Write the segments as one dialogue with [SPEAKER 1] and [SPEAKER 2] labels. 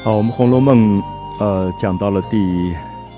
[SPEAKER 1] 好，我们《红楼梦》讲到了第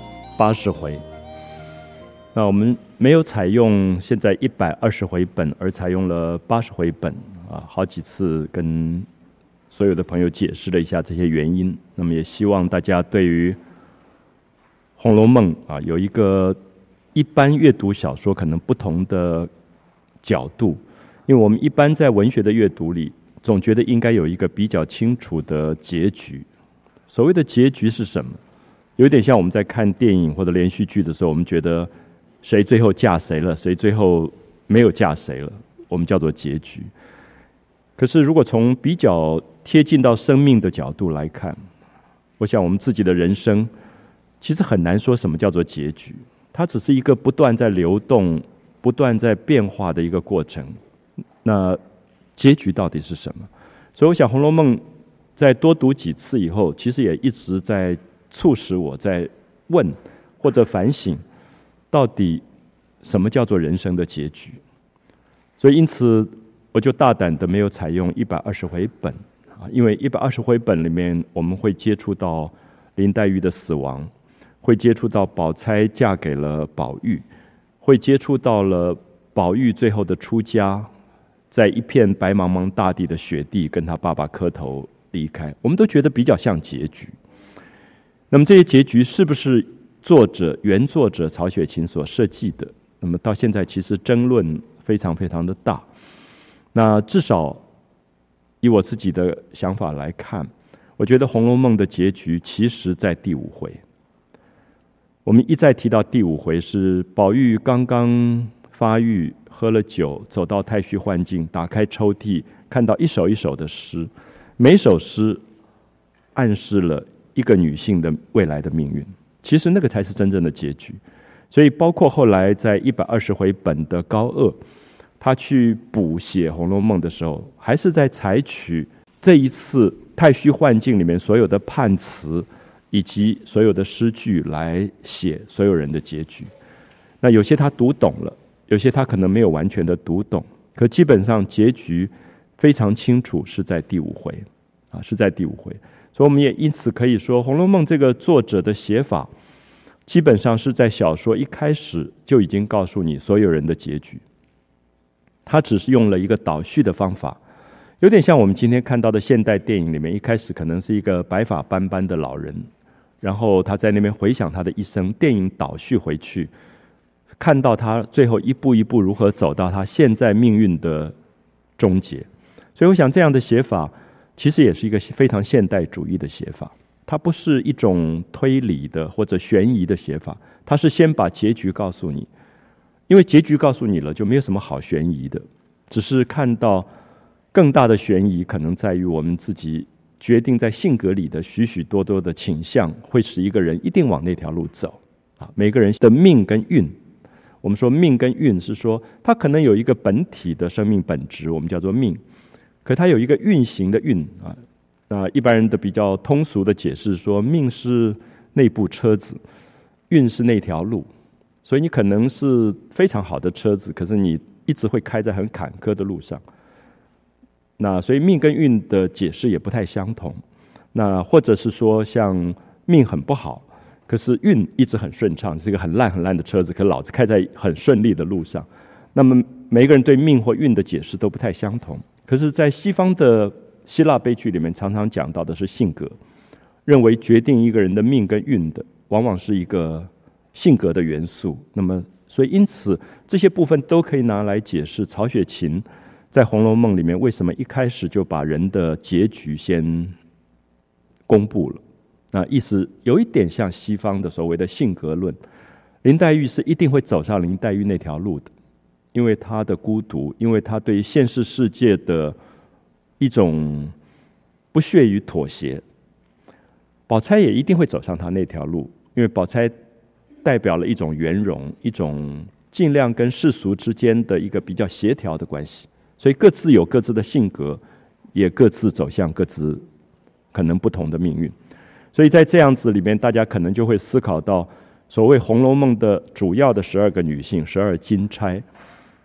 [SPEAKER 1] 80回。那我们没有采用现在120回本，而采用了80回本啊，好几次跟所有的朋友解释了一下这些原因。那么也希望大家对于《红楼梦》啊有一个一般阅读小说可能不同的角度，因为我们一般在文学的阅读里，总觉得应该有一个比较清楚的结局。所谓的结局是什么？有点像我们在看电影或者连续剧的时候，我们觉得谁最后嫁谁了，谁最后没有嫁谁了，我们叫做结局。可是如果从比较贴近到生命的角度来看，我想我们自己的人生其实很难说什么叫做结局，它只是一个不断在流动、不断在变化的一个过程。那结局到底是什么？所以我想《红楼梦》在多读几次以后，其实也一直在促使我在问或者反省，到底什么叫做人生的结局。所以因此我就大胆的没有采用120回本啊，因为120回本里面我们会接触到林黛玉的死亡，会接触到宝钗嫁给了宝玉，会接触到了宝玉最后的出家，在一片白茫茫大地的雪地跟他爸爸磕头离开，我们都觉得比较像结局。那么这些结局是不是原作者曹雪芹所设计的？那么到现在其实争论非常非常的大。那至少以我自己的想法来看，我觉得《红楼梦》的结局其实在第5回。我们一再提到第5回是宝玉刚刚发育，喝了酒，走到太虚幻境，打开抽屉，看到一首一首的诗，每首诗暗示了一个女性的未来的命运，其实那个才是真正的结局。所以包括后来在120回本的高鹗，他去补写《红楼梦》的时候，还是在采取这一次太虚幻境里面所有的判词以及所有的诗句来写所有人的结局。那有些他读懂了，有些他可能没有完全的读懂，可基本上结局非常清楚，是在第5回啊，是在第5回。所以我们也因此可以说，《红楼梦》这个作者的写法基本上是在小说一开始就已经告诉你所有人的结局，他只是用了一个倒叙的方法，有点像我们今天看到的现代电影里面，一开始可能是一个白发斑斑的老人，然后他在那边回想他的一生，电影倒叙回去，看到他最后一步一步如何走到他现在命运的终结。所以我想这样的写法其实也是一个非常现代主义的写法，它不是一种推理的或者悬疑的写法，它是先把结局告诉你，因为结局告诉你了，就没有什么好悬疑的，只是看到更大的悬疑可能在于我们自己决定在性格里的许许多多的倾向，会使一个人一定往那条路走啊。每个人的命跟运，我们说命跟运是说他可能有一个本体的生命本质，我们叫做命，可它有一个运行的运啊。那一般人的比较通俗的解释说，命是那部车子，运是那条路。所以你可能是非常好的车子，可是你一直会开在很坎坷的路上。那所以命跟运的解释也不太相同。那或者是说像命很不好，可是运一直很顺畅，是一个很烂很烂的车子，可老是开在很顺利的路上。那么每个人对命或运的解释都不太相同。可是在西方的希腊悲剧里面常常讲到的是性格，认为决定一个人的命跟运的往往是一个性格的元素。那么所以因此这些部分都可以拿来解释曹雪芹在《红楼梦》里面为什么一开始就把人的结局先公布了。那意思有一点像西方的所谓的性格论，林黛玉是一定会走上林黛玉那条路的，因为她的孤独，因为她对现实世界的一种不屑于妥协。宝钗也一定会走上她那条路，因为宝钗代表了一种圆融，一种尽量跟世俗之间的一个比较协调的关系。所以各自有各自的性格，也各自走向各自可能不同的命运。所以在这样子里面，大家可能就会思考到所谓《红楼梦》的主要的12个女性，12金钗，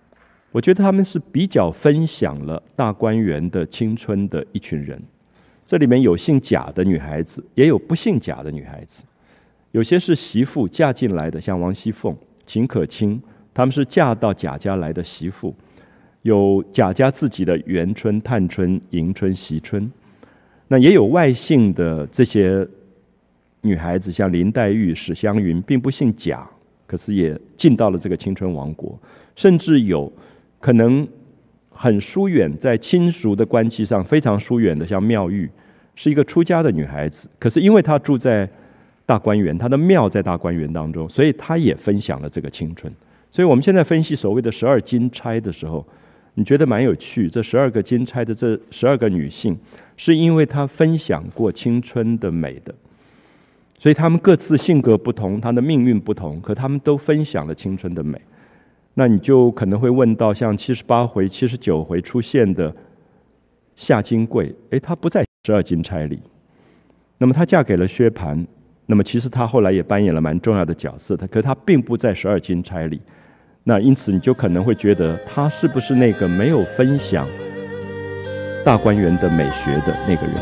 [SPEAKER 1] 我觉得她们是比较分享了大观园的青春的一群人。 这里面有姓贾的女孩子，也有不姓贾的女孩子。有些是媳妇嫁进来的，像王熙凤、秦可卿，她们是嫁到贾家来的媳妇。有贾家自己的元春、探春、迎春、惜春，那也有外姓的这些女孩子，像林黛玉、史湘云，并不姓贾，可是也进到了这个青春王国。甚至有可能很疏远，在亲属的关系上非常疏远的，像妙玉，是一个出家的女孩子，可是因为她住在大观园，她的庙在大观园当中，所以她也分享了这个青春。所以我们现在分析所谓的12金钗的时候，你觉得蛮有趣，这12个金钗的这12个女性，是因为她分享过青春的美的，所以她们各自性格不同，她的命运不同，可她们都分享了青春的美。那你就可能会问到，像78回、79回出现的夏金桂，她不在12金钗里，那么她嫁给了薛蟠，那么其实她后来也扮演了蛮重要的角色的，可是她并不在12金钗里。那因此你就可能会觉得，她是不是那个没有分享大观园的美学的那个人？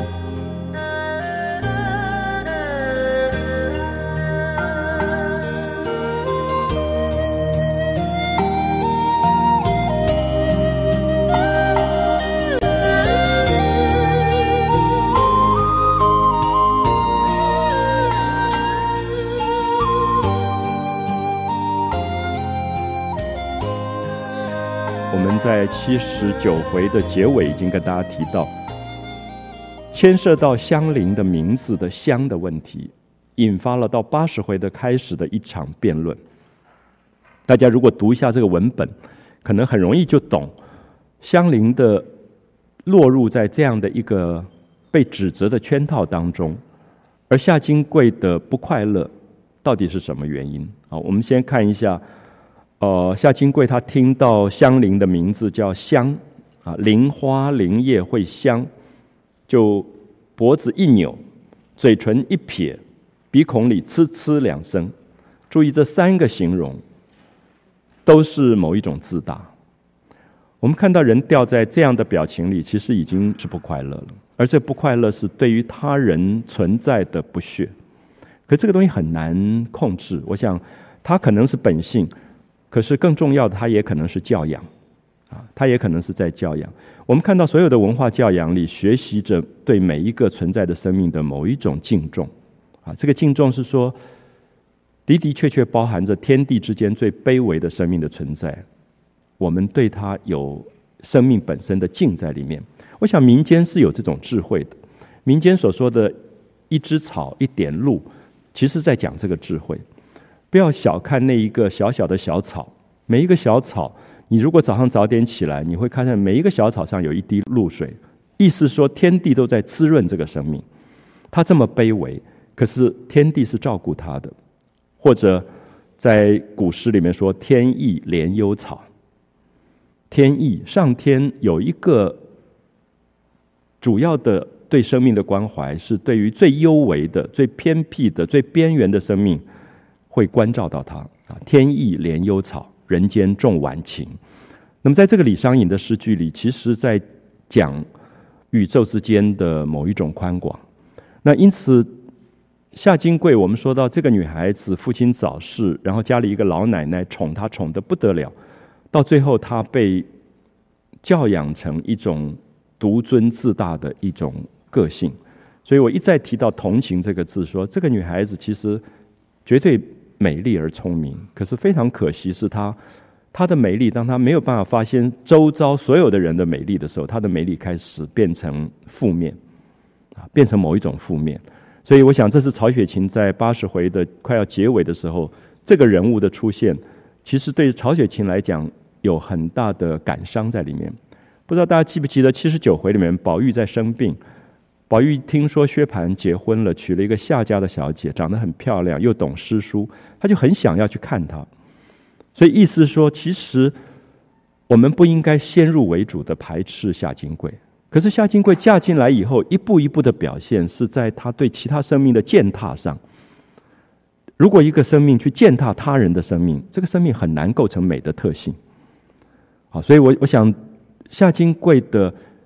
[SPEAKER 1] 在79回的结尾已经跟大家提到，牵涉到香菱的名字的香的问题，引发了到80回的开始的一场辩论。大家如果读一下这个文本，可能很容易就懂香菱的落入在这样的一个被指责的圈套当中，而夏金桂的不快乐到底是什么原因？我们先看一下夏金桂她听到香菱的名字叫香菱花菱叶会香，就脖子一扭，嘴唇一撇，鼻孔里呲呲2声。注意这3个形容都是某一种自大。我们看到人掉在这样的表情里，其实已经是不快乐了，而这不快乐是对于他人存在的不屑。可这个东西很难控制，我想它可能是本性，可是更重要的，它也可能是教养它也可能是在教养。我们看到所有的文化教养里，学习着对每一个存在的生命的某一种敬重这个敬重是说，的的确确包含着天地之间最卑微的生命的存在，我们对它有生命本身的敬在里面。我想民间是有这种智慧的，民间所说的一枝草一点露，其实在讲这个智慧。不要小看那一个小小的小草，每一个小草，你如果早上早点起来，你会看见每一个小草上有一滴露水，意思说天地都在滋润这个生命。它这么卑微，可是天地是照顾它的。或者在古诗里面说天意怜幽草，天意，上天有一个主要的对生命的关怀，是对于最幽微的、最偏僻的、最边缘的生命会关照到它天意怜幽草，人间重晚晴。那么在这个李商隐的诗句里，其实在讲宇宙之间的某一种宽广。那因此夏金桂，我们说到这个女孩子父亲早逝，然后家里一个老奶奶宠她宠得不得了，到最后她被教养成一种独尊自大的一种个性。所以我一再提到同情这个字，说这个女孩子其实绝对美丽而聪明，可是非常可惜是她的美丽，当她没有办法发现周遭所有的人的美丽的时候，她的美丽开始变成负面变成某一种负面。所以我想这是曹雪芹在80回的快要结尾的时候，这个人物的出现，其实对曹雪芹来讲有很大的感伤在里面。不知道大家记不记得79回里面，宝玉在生病，宝玉听说薛蟠结婚了，娶了一个夏家的小姐，长得很漂亮，又懂诗书，他就很想要去看她。所以意思说，其实我们不应该先入为主的排斥夏金桂。可是夏金桂嫁进来以后，一步一步的表现是在她对其他生命的践踏上。如果一个生命去践踏他人的生命，这个生命很难构成美的特性。所以我想夏金桂的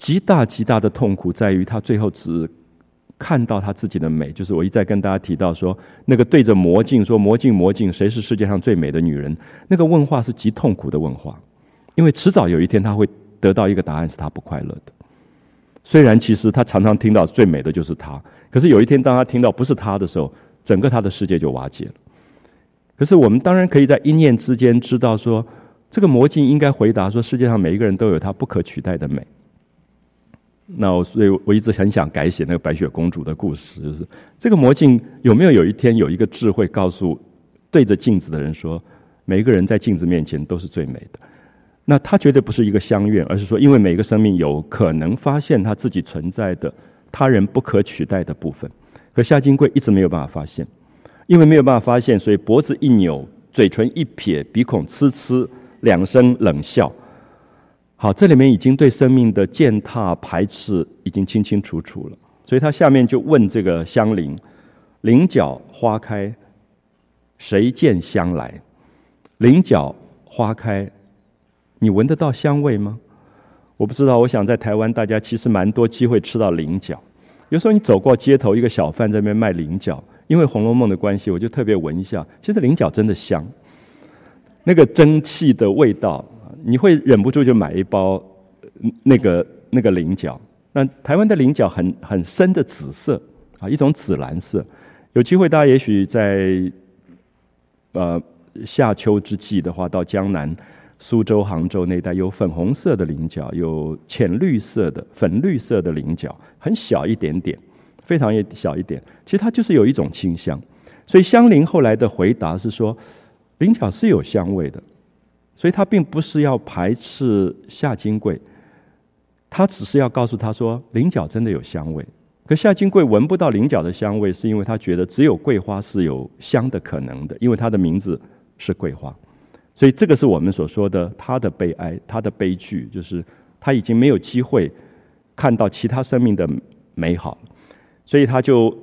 [SPEAKER 1] 极大极大的痛苦在于他最后只看到他自己的美，就是我一再跟大家提到说，那个对着魔镜说魔镜魔镜，谁是世界上最美的女人？那个问话是极痛苦的问话，因为迟早有一天他会得到一个答案，是他不快乐的。虽然其实他常常听到最美的就是他，可是有一天当他听到不是他的时候，整个他的世界就瓦解了。可是我们当然可以在一念之间知道说，这个魔镜应该回答说，世界上每一个人都有他不可取代的美。所以我一直很想改写那个白雪公主的故事，就是这个魔镜有没有一天有一个智慧告诉对着镜子的人说，每一个人在镜子面前都是最美的。那他绝对不是一个相怨，而是说因为每个生命有可能发现他自己存在的他人不可取代的部分。可夏金贵一直没有办法发现，因为没有办法发现，所以脖子一扭，嘴唇一撇，鼻孔呲呲，两声冷笑。好，这里面已经对生命的践踏排斥已经清清楚楚了。所以他下面就问这个香菱，菱角花开，谁见香来？菱角花开，你闻得到香味吗？我不知道，我想在台湾大家其实蛮多机会吃到菱角。有时候你走过街头，一个小贩在那边卖菱角，因为《红楼梦》的关系，我就特别闻一下，其实菱角真的香，那个蒸汽的味道，你会忍不住就买一包那个菱角。那台湾的菱角很深的紫色啊，一种紫蓝色。有机会大家也许在夏秋之际的话，到江南苏州、杭州那一带有粉红色的菱角，有浅绿色的、粉绿色的菱角，很小一点点，非常小一点。其实它就是有一种清香。所以香菱后来的回答是说，菱角是有香味的，所以他并不是要排斥夏金桂，他只是要告诉他说，菱角真的有香味。可夏金桂闻不到菱角的香味，是因为他觉得只有桂花是有香的可能的，因为它的名字是桂花。所以这个是我们所说的他的悲哀，他的悲剧，就是他已经没有机会看到其他生命的美好，所以他就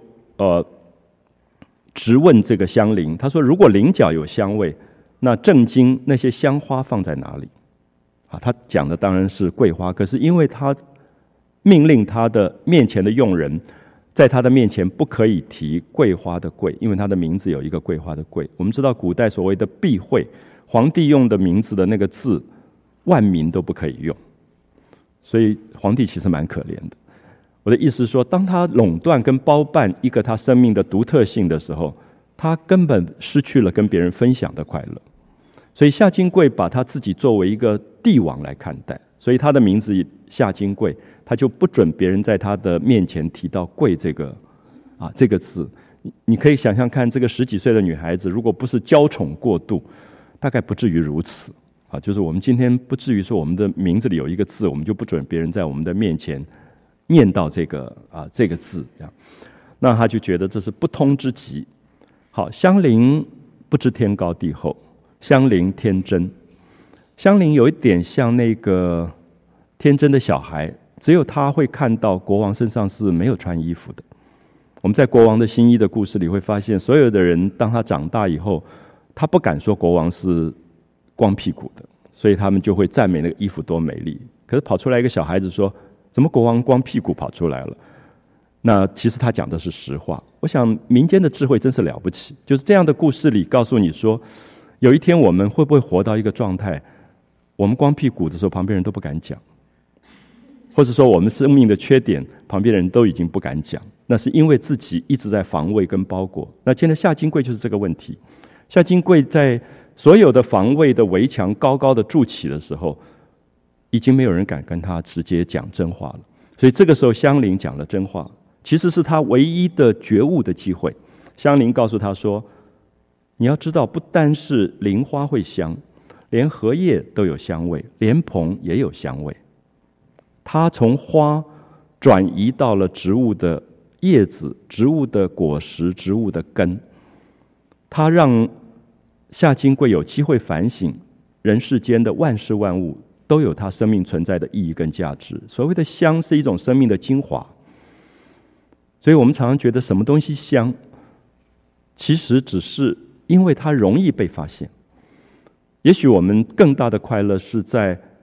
[SPEAKER 1] 直问这个香菱，他说：如果菱角有香味，那正经那些香花放在哪里？啊，他讲的当然是桂花，可是因为他命令他的面前的佣人，在他的面前不可以提桂花的桂，因为他的名字有一个桂花的桂。我们知道古代所谓的避讳，皇帝用的名字的那个字，万民都不可以用，所以皇帝其实蛮可怜的。我的意思是说，当他垄断跟包办一个他生命的独特性的时候，他根本失去了跟别人分享的快乐。所以夏金桂把他自己作为一个帝王来看待，所以他的名字夏金桂，他就不准别人在他的面前提到贵这个字。你可以想象看，这个10几岁的女孩子，如果不是娇宠过度，大概不至于如此啊。就是我们今天不至于说我们的名字里有一个字，我们就不准别人在我们的面前念到这个字，这样，那他就觉得这是不通之极。好，香菱不知天高地厚，香菱天真。香菱有一点像那个天真的小孩，只有他会看到国王身上是没有穿衣服的。我们在国王的新衣的故事里会发现，所有的人当他长大以后，他不敢说国王是光屁股的，所以他们就会赞美那个衣服多美丽。可是跑出来一个小孩子说，怎么国王光屁股跑出来了？那其实他讲的是实话。我想民间的智慧真是了不起，就是这样的故事里告诉你说，有一天我们会不会活到一个状态，我们光屁股的时候旁边人都不敢讲，或者说我们生命的缺点旁边人都已经不敢讲，那是因为自己一直在防卫跟包裹。那现在夏金桂就是这个问题。夏金桂在所有的防卫的围墙高高的筑起的时候，已经没有人敢跟他直接讲真话了。所以这个时候香菱讲了真话，其实是他唯一的觉悟的机会。香菱告诉他说，你要知道，不单是菱花会香，连荷叶都有香味，莲蓬也有香味。它从花转移到了植物的叶子、植物的果实、植物的根，它让夏金桂有机会反省人世间的万事万物都有它生命存在的意义跟价值。所谓的香是一种生命的精华，所以我们常常觉得什么东西香，其实只是因为它容易被发现。也许我们更大的快乐是在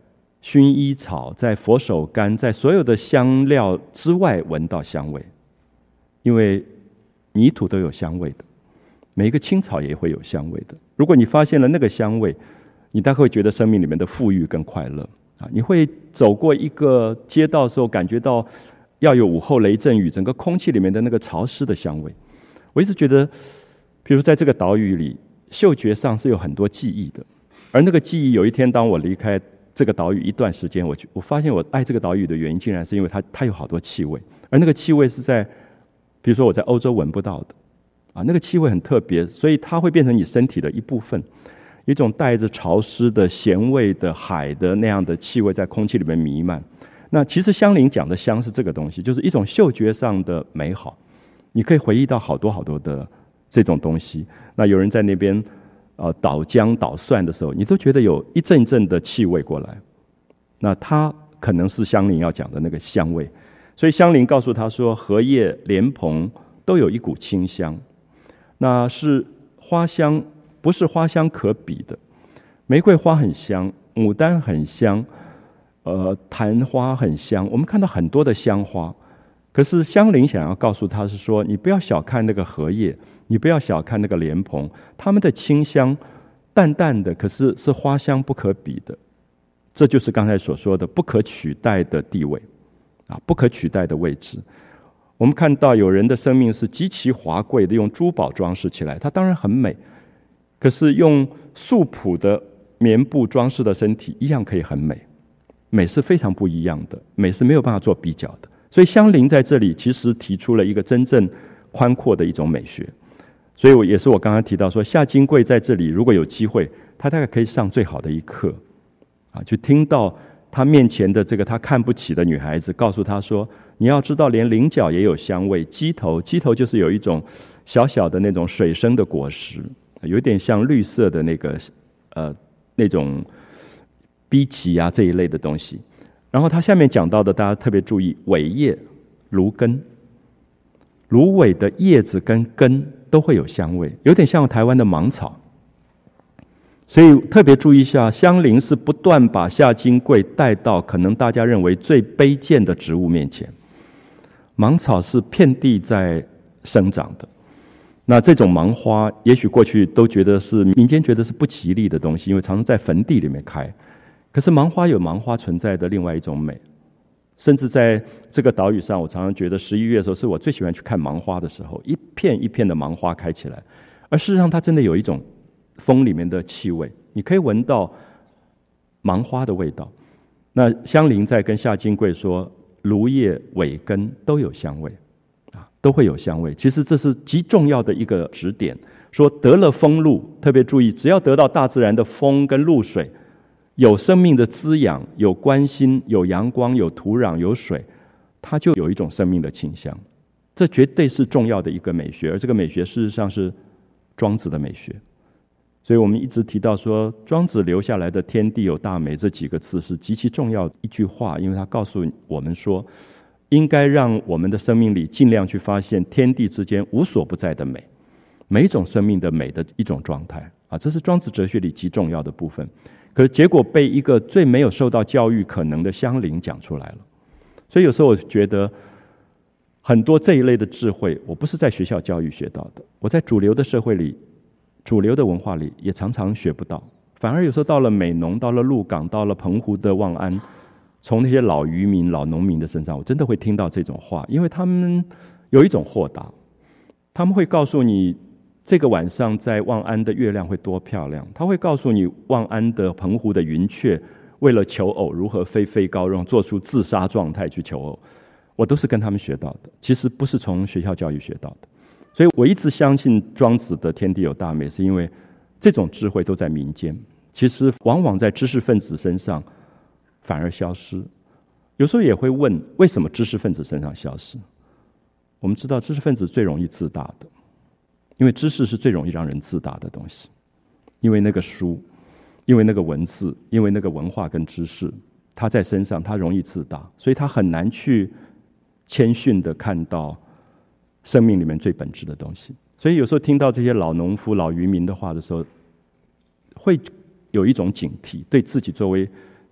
[SPEAKER 1] 薰衣草，在佛手柑，在所有的香料之外闻到香味，因为泥土都有香味的，每一个青草也会有香味的。如果你发现了那个香味，你大概会觉得生命里面的富裕跟快乐啊！你会走过一个街道的时候，感觉到要有午后雷阵雨，整个空气里面的那个潮湿的香味。我一直觉得，比如在这个岛屿里，嗅觉上是有很多记忆的，而那个记忆，有一天当我离开这个岛屿一段时间，我发现我爱这个岛屿的原因，竟然是因为它有好多气味，而那个气味是在，比如说我在欧洲闻不到的，啊，那个气味很特别，所以它会变成你身体的一部分，一种带着潮湿的咸味的海的那样的气味在空气里面弥漫。那其实香菱讲的香是这个东西，就是一种嗅觉上的美好，你可以回忆到好多好多的这种东西。那有人在那边捣姜捣蒜的时候，你都觉得有一阵阵的气味过来，那它可能是香菱要讲的那个香味。所以香菱告诉他说，荷叶莲蓬都有一股清香，那是花香，不是花香可比的。玫瑰花很香，牡丹很香，昙花很香，我们看到很多的香花。可是香菱想要告诉他是说，你不要小看那个荷叶，你不要小看那个莲蓬，它们的清香淡淡的，可是是花香不可比的。这就是刚才所说的不可取代的地位啊，不可取代的位置。我们看到有人的生命是极其华贵的，用珠宝装饰起来，它当然很美，可是用素朴的棉布装饰的身体一样可以很美。美是非常不一样的，美是没有办法做比较的。所以香菱在这里其实提出了一个真正宽阔的一种美学。所以也是我刚刚提到说，夏金桂在这里如果有机会，他大概可以上最好的一课啊，就听到他面前的这个他看不起的女孩子告诉他说，你要知道连菱角也有香味，鸡头就是有一种小小的那种水生的果实，有点像绿色的那个那种荸荠啊这一类的东西。然后他下面讲到的，大家特别注意，苇叶、芦根，芦苇的叶子跟根都会有香味，有点像台湾的芒草。所以特别注意一下，香菱是不断把夏金桂带到可能大家认为最卑贱的植物面前。芒草是遍地在生长的，那这种芒花也许过去都觉得是民间觉得是不吉利的东西，因为常常在坟地里面开。可是芒花有芒花存在的另外一种美，甚至在这个岛屿上，我常常觉得11月的时候是我最喜欢去看芒花的时候，一片一片的芒花开起来，而事实上它真的有一种风里面的气味，你可以闻到芒花的味道。那香菱在跟夏金桂说，芦叶苇根都有香味啊，都会有香味。其实这是极重要的一个指点，说得了风露，特别注意，只要得到大自然的风跟露水，有生命的滋养，有关心，有阳光，有土壤，有水，它就有一种生命的倾向。这绝对是重要的一个美学，而这个美学事实上是庄子的美学。所以我们一直提到说，庄子留下来的天地有大美这几个字是极其重要的一句话，因为他告诉我们说，应该让我们的生命里尽量去发现天地之间无所不在的美，每一种生命的美的一种状态啊，这是庄子哲学里极重要的部分。可是结果被一个最没有受到教育可能的香菱讲出来了。所以有时候我觉得很多这一类的智慧，我不是在学校教育学到的，我在主流的社会里，主流的文化里也常常学不到，反而有时候到了美浓，到了鹿港，到了澎湖的望安，从那些老渔民、老农民的身上，我真的会听到这种话，因为他们有一种豁达，他们会告诉你这个晚上在望安的月亮会多漂亮，他会告诉你望安的澎湖的云雀为了求偶如何飞高，然后做出自杀状态去求偶，我都是跟他们学到的，其实不是从学校教育学到的。所以我一直相信庄子的天地有大美，是因为这种智慧都在民间，其实往往在知识分子身上反而消失。有时候也会问，为什么知识分子身上消失？我们知道知识分子最容易自大的，因为知识是最容易让人自大的东西，因为那个书，因为那个文字，因为那个文化跟知识，他在身上他容易自大，所以他很难去谦逊的看到生命里面最本质的东西。所以有时候听到这些老农夫、老渔民的话的时候，会有一种警惕，对自己作为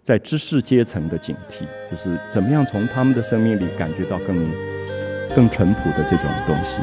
[SPEAKER 1] 在知识阶层的警惕，就是怎么样从他们的生命里感觉到更淳朴的这种东西。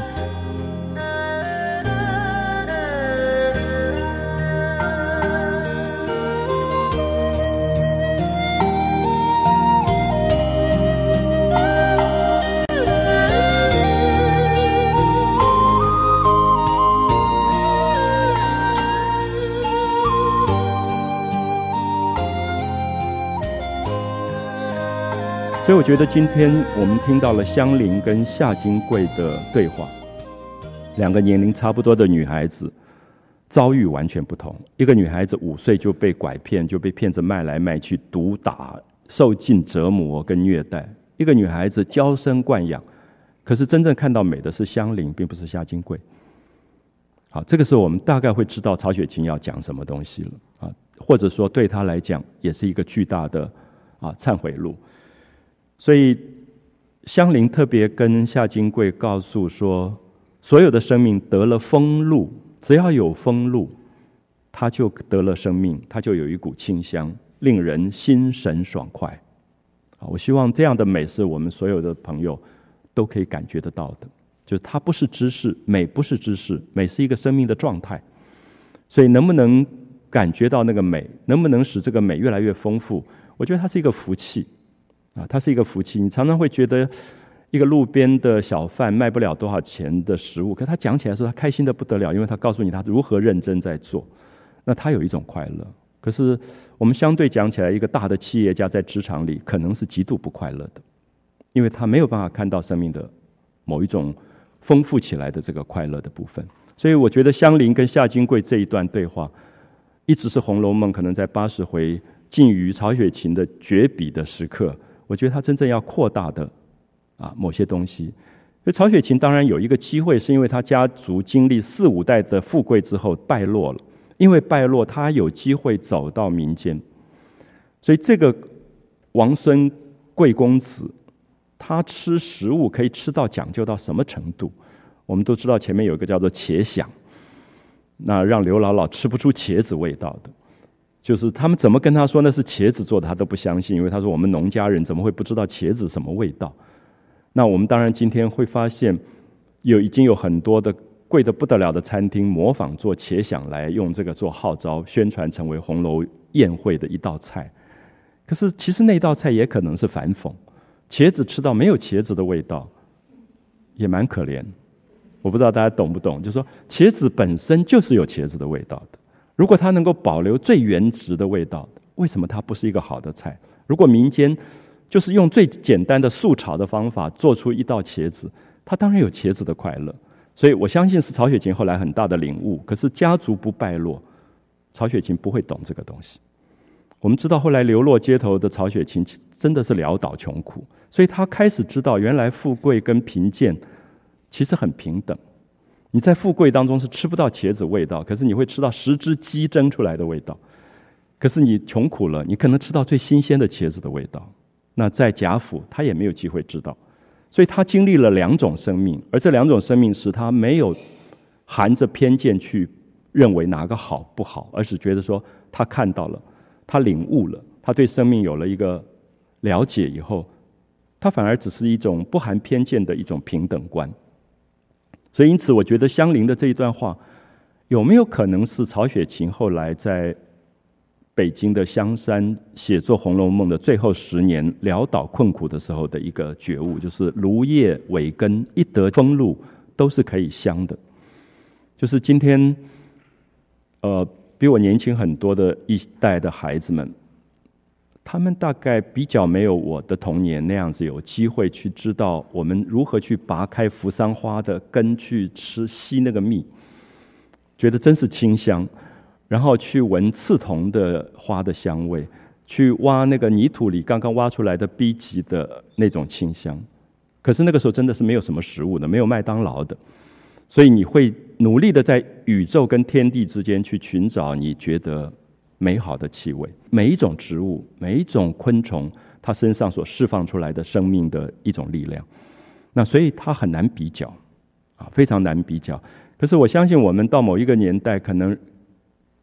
[SPEAKER 1] 所以我觉得今天我们听到了香菱跟夏金桂的对话，两个年龄差不多的女孩子，遭遇完全不同。一个女孩子5岁就被拐骗，就被骗子卖来卖去，毒打，受尽折磨跟虐待；一个女孩子娇生惯养，可是真正看到美的是香菱，并不是夏金桂。好，这个时候我们大概会知道曹雪芹要讲什么东西了啊，或者说对他来讲也是一个巨大的忏悔录。所以香菱特别跟夏金桂告诉说，所有的生命得了风露，只要有风露，它就得了生命，它就有一股清香，令人心神爽快。我希望这样的美是我们所有的朋友都可以感觉得到的，就是它不是知识，美不是知识，美是一个生命的状态。所以能不能感觉到那个美，能不能使这个美越来越丰富，我觉得它是一个福气它是一个福气。你常常会觉得一个路边的小贩卖不了多少钱的食物，可他讲起来说他开心的不得了，因为他告诉你他如何认真在做，那他有一种快乐。可是我们相对讲起来，一个大的企业家在职场里可能是极度不快乐的，因为他没有办法看到生命的某一种丰富起来的这个快乐的部分。所以我觉得香菱跟夏金桂这一段对话，一直是《红楼梦》可能在80回近于曹雪芹的绝笔的时刻。我觉得他真正要扩大的某些东西。所以曹雪芹当然有一个机会，是因为他家族经历4、5代的富贵之后败落了，因为败落他有机会走到民间。所以这个王孙贵公子，他吃食物可以吃到讲究到什么程度？我们都知道前面有一个叫做茄鲞，那让刘姥姥吃不出茄子味道的，就是他们怎么跟他说那是茄子做的，他都不相信，因为他说我们农家人怎么会不知道茄子什么味道？那我们当然今天会发现，已经有很多的贵得不得了的餐厅模仿做茄鲞来用这个做号召，宣传成为红楼宴会的一道菜。可是其实那道菜也可能是反讽，茄子吃到没有茄子的味道，也蛮可怜。我不知道大家懂不懂，就是说茄子本身就是有茄子的味道的。如果它能够保留最原汁的味道，为什么它不是一个好的菜？如果民间就是用最简单的素炒的方法做出一道茄子，它当然有茄子的快乐。所以我相信是曹雪芹后来很大的领悟。可是家族不败落，曹雪芹不会懂这个东西。我们知道后来流落街头的曹雪芹真的是潦倒穷苦，所以他开始知道原来富贵跟贫贱其实很平等。你在富贵当中是吃不到茄子味道，可是你会吃到10只鸡蒸出来的味道。可是你穷苦了，你可能吃到最新鲜的茄子的味道。那在贾府他也没有机会知道，所以他经历了2种生命，而这2种生命使他没有含着偏见去认为哪个好不好，而是觉得说他看到了，他领悟了，他对生命有了一个了解以后，他反而只是一种不含偏见的一种平等观。所以因此我觉得香菱的这一段话有没有可能是曹雪芹后来在北京的香山写作《红楼梦》的最后10年潦倒困苦的时候的一个觉悟，就是芦叶尾根一得风露都是可以香的。就是今天比我年轻很多的一代的孩子们，他们大概比较没有我的童年那样子有机会去知道我们如何去拔开扶桑花的根去吸那个蜜，觉得真是清香，然后去闻刺桐的花的香味，去挖那个泥土里刚刚挖出来的荸荠的那种清香。可是那个时候真的是没有什么食物的，没有麦当劳的，所以你会努力的在宇宙跟天地之间去寻找你觉得美好的气味。每一种植物，每一种昆虫，它身上所释放出来的生命的一种力量，那所以它很难比较非常难比较。可是我相信我们到某一个年代，可能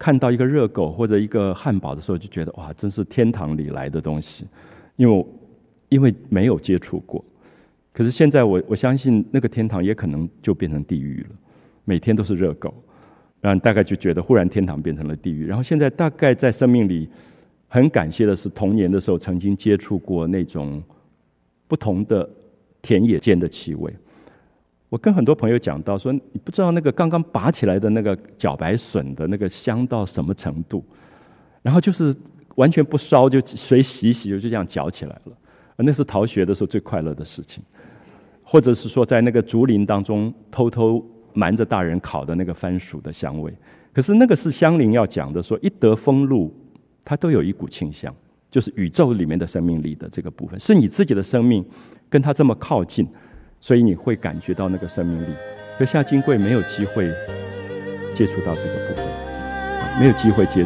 [SPEAKER 1] 看到一个热狗或者一个汉堡的时候，就觉得哇，真是天堂里来的东西，因为没有接触过。可是现在我相信那个天堂也可能就变成地狱了，每天都是热狗，然后大概就觉得忽然天堂变成了地狱。然后现在大概在生命里很感谢的是，童年的时候曾经接触过那种不同的田野间的气味。我跟很多朋友讲到说，你不知道那个刚刚拔起来的那个茭白笋的那个香到什么程度，然后就是完全不烧，就水洗一洗就这样嚼起来了。那是逃学的时候最快乐的事情。或者是说在那个竹林当中偷偷瞒着大人烤的那个番薯的香味。可是那个是香菱要讲的，说一得风露它都有一股清香，就是宇宙里面的生命力的这个部分，是你自己的生命跟它这么靠近，所以你会感觉到那个生命力。可夏金贵没有机会接触到这个部分，没有机会接触。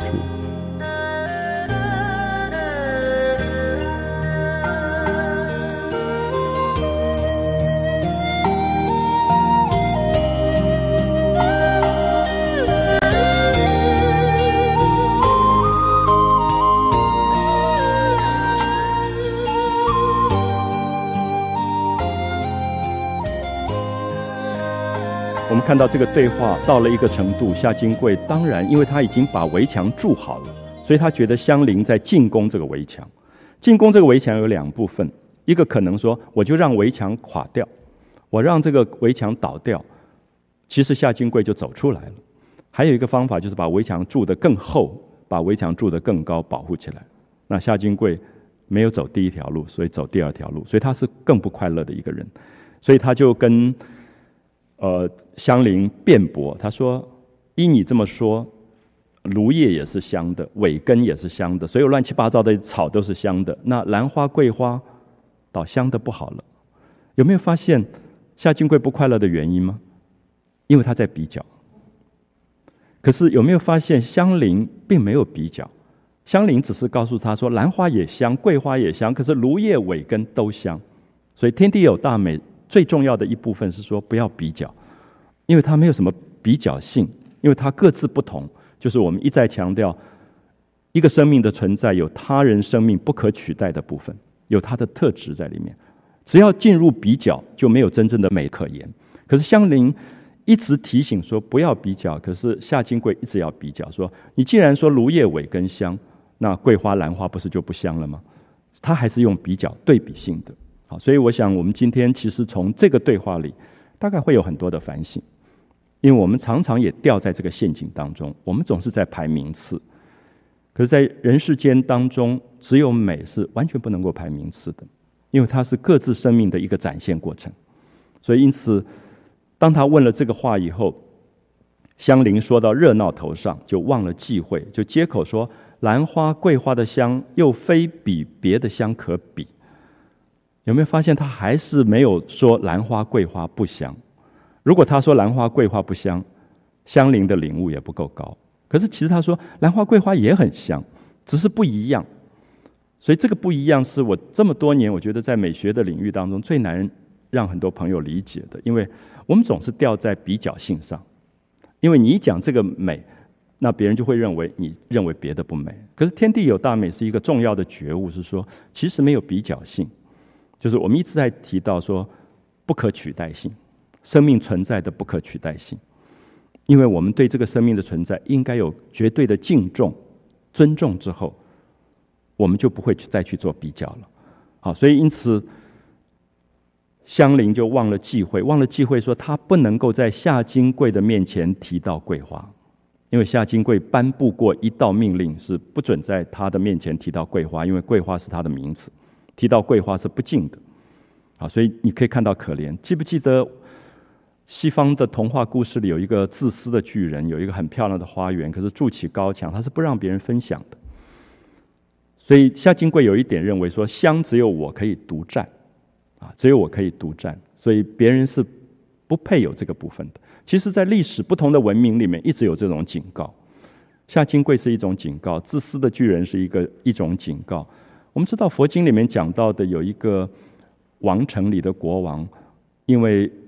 [SPEAKER 1] 我们看到这个对话到了一个程度，夏金贵当然因为他已经把围墙筑好了，所以他觉得香菱在进攻这个围墙。进攻这个围墙有两部分，一个可能说我就让围墙垮掉，我让这个围墙倒掉，其实夏金贵就走出来了。还有一个方法就是把围墙筑得更厚，把围墙筑得更高，保护起来。那夏金贵没有走第一条路，所以走第二条路，所以他是更不快乐的一个人。所以他就跟香菱辩驳，他说：依你这么说，芦叶也是香的，苇根也是香的，所有乱七八糟的草都是香的，那兰花桂花倒香的不好了。有没有发现夏金贵不快乐的原因吗？因为他在比较。可是有没有发现香菱并没有比较，香菱只是告诉他说兰花也香，桂花也香，可是芦叶苇根都香。所以天地有大美最重要的一部分是说不要比较，因为它没有什么比较性，因为它各自不同。就是我们一再强调，一个生命的存在有他人生命不可取代的部分，有它的特质在里面。只要进入比较，就没有真正的美可言。可是香菱一直提醒说不要比较，可是夏金贵一直要比较，说你既然说芦叶苇根香，那桂花兰花不是就不香了吗？他还是用比较对比性的。好，所以我想我们今天其实从这个对话里大概会有很多的反省，因为我们常常也掉在这个陷阱当中，我们总是在排名次。可是在人世间当中，只有美是完全不能够排名次的，因为它是各自生命的一个展现过程。所以因此当他问了这个话以后，香菱说到热闹头上就忘了忌讳，就接口说兰花桂花的香又非比别的香可比。有没有发现他还是没有说兰花桂花不香？如果他说兰花桂花不香，香菱的领悟也不够高。可是其实他说兰花桂花也很香，只是不一样。所以这个不一样是我这么多年我觉得在美学的领域当中最难让很多朋友理解的，因为我们总是掉在比较性上。因为你一讲这个美，那别人就会认为你认为别的不美。可是天地有大美是一个重要的觉悟，是说其实没有比较性，就是我们一直在提到说不可取代性，生命存在的不可取代性。因为我们对这个生命的存在应该有绝对的敬重、尊重之后，我们就不会再去做比较了。好，所以因此香菱就忘了忌讳，说她不能够在夏金贵的面前提到桂花，因为夏金贵颁布过一道命令，是不准在他的面前提到桂花，因为桂花是他的名字，提到桂花是不敬的。好，所以你可以看到可怜。记不记得西方的童话故事里有一个自私的巨人，有一个很漂亮的花园，可是筑起高墙，他是不让别人分享的。所以夏金贵有一点认为说，香只有我可以独占，只有我可以独占，所以别人是不配有这个部分的。其实在历史不同的文明里面一直有这种警告，夏金贵是一种警告，自私的巨人是一种警告。我们知道佛经里面讲到的有一个王城里的国王，因为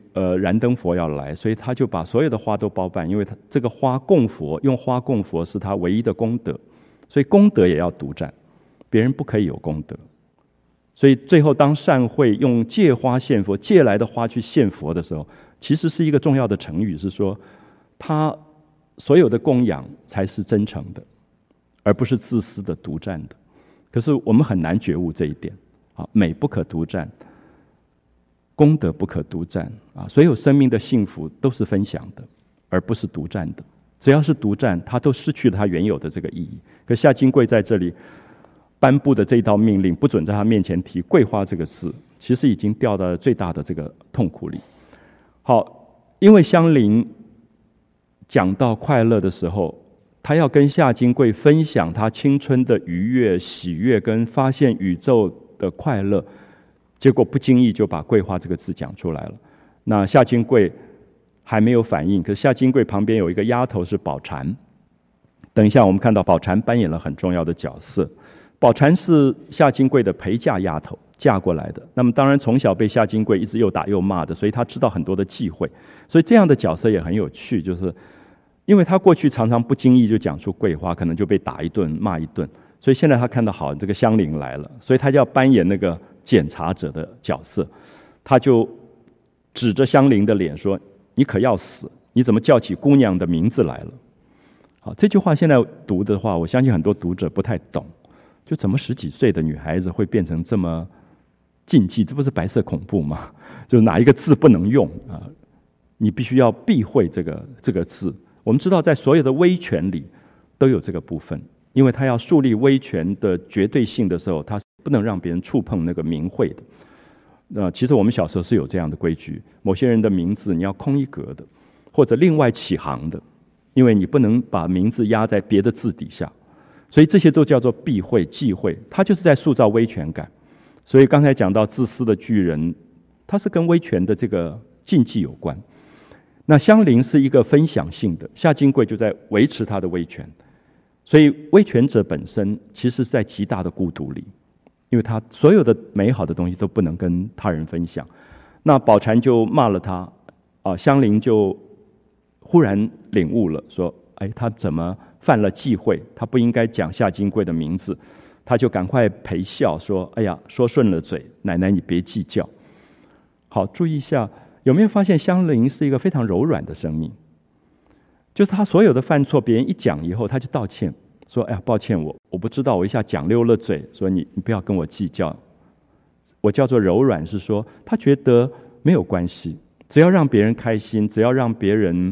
[SPEAKER 1] 燃灯佛要来，所以他就把所有的花都包办，因为他这个花供佛，用花供佛是他唯一的功德，所以功德也要独占，别人不可以有功德。所以最后当善慧用借花献佛，借来的花去献佛的时候，其实是一个重要的成语，是说他所有的供养才是真诚的，而不是自私的独占的。可是我们很难觉悟这一点啊，美不可独占，功德不可独占啊，所有生命的幸福都是分享的，而不是独占的。只要是独占，它都失去了它原有的这个意义。可夏金贵在这里颁布的这一道命令，不准在他面前提桂花这个字，其实已经掉到了最大的这个痛苦里。好，因为香菱讲到快乐的时候，他要跟夏金贵分享他青春的愉悦、喜悦跟发现宇宙的快乐，结果不经意就把桂花这个字讲出来了。那夏金贵还没有反应，可是夏金贵旁边有一个丫头是宝蟾，等一下我们看到宝蟾扮演了很重要的角色。宝蟾是夏金贵的陪嫁丫头，嫁过来的。那么当然从小被夏金贵一直又打又骂的，所以他知道很多的忌讳。所以这样的角色也很有趣，就是因为他过去常常不经意就讲出桂花，可能就被打一顿骂一顿，所以现在他看到好这个香菱来了，所以他就要扮演那个检查者的角色，他就指着香菱的脸说：你可要死，你怎么叫起姑娘的名字来了？好，这句话现在读的话，我相信很多读者不太懂，就怎么10几岁的女孩子会变成这么禁忌？这不是白色恐怖吗？就是哪一个字不能用啊？你必须要避讳这个字。我们知道在所有的威权里都有这个部分，因为他要树立威权的绝对性的时候，他不能让别人触碰那个名讳的。其实我们小时候是有这样的规矩，某些人的名字你要空一格的，或者另外起行的，因为你不能把名字压在别的字底下，所以这些都叫做避讳忌讳，它就是在塑造威权感。所以刚才讲到自私的巨人，它是跟威权的这个禁忌有关。那香菱是一个分享性的，夏金贵就在维持他的威权，所以威权者本身其实是在极大的孤独里，因为他所有的美好的东西都不能跟他人分享。那宝蟾就骂了他，香菱就忽然领悟了，说：哎，他怎么犯了忌讳？他不应该讲夏金贵的名字。他就赶快陪笑说：哎呀，说顺了嘴，奶奶你别计较。好，注意一下，有没有发现香菱是一个非常柔软的生命？就是他所有的犯错，别人一讲以后，他就道歉，说：哎呀，抱歉，我不知道，我一下讲溜了嘴，说你不要跟我计较。我叫做柔软，是说他觉得没有关系，只要让别人开心，只要让别人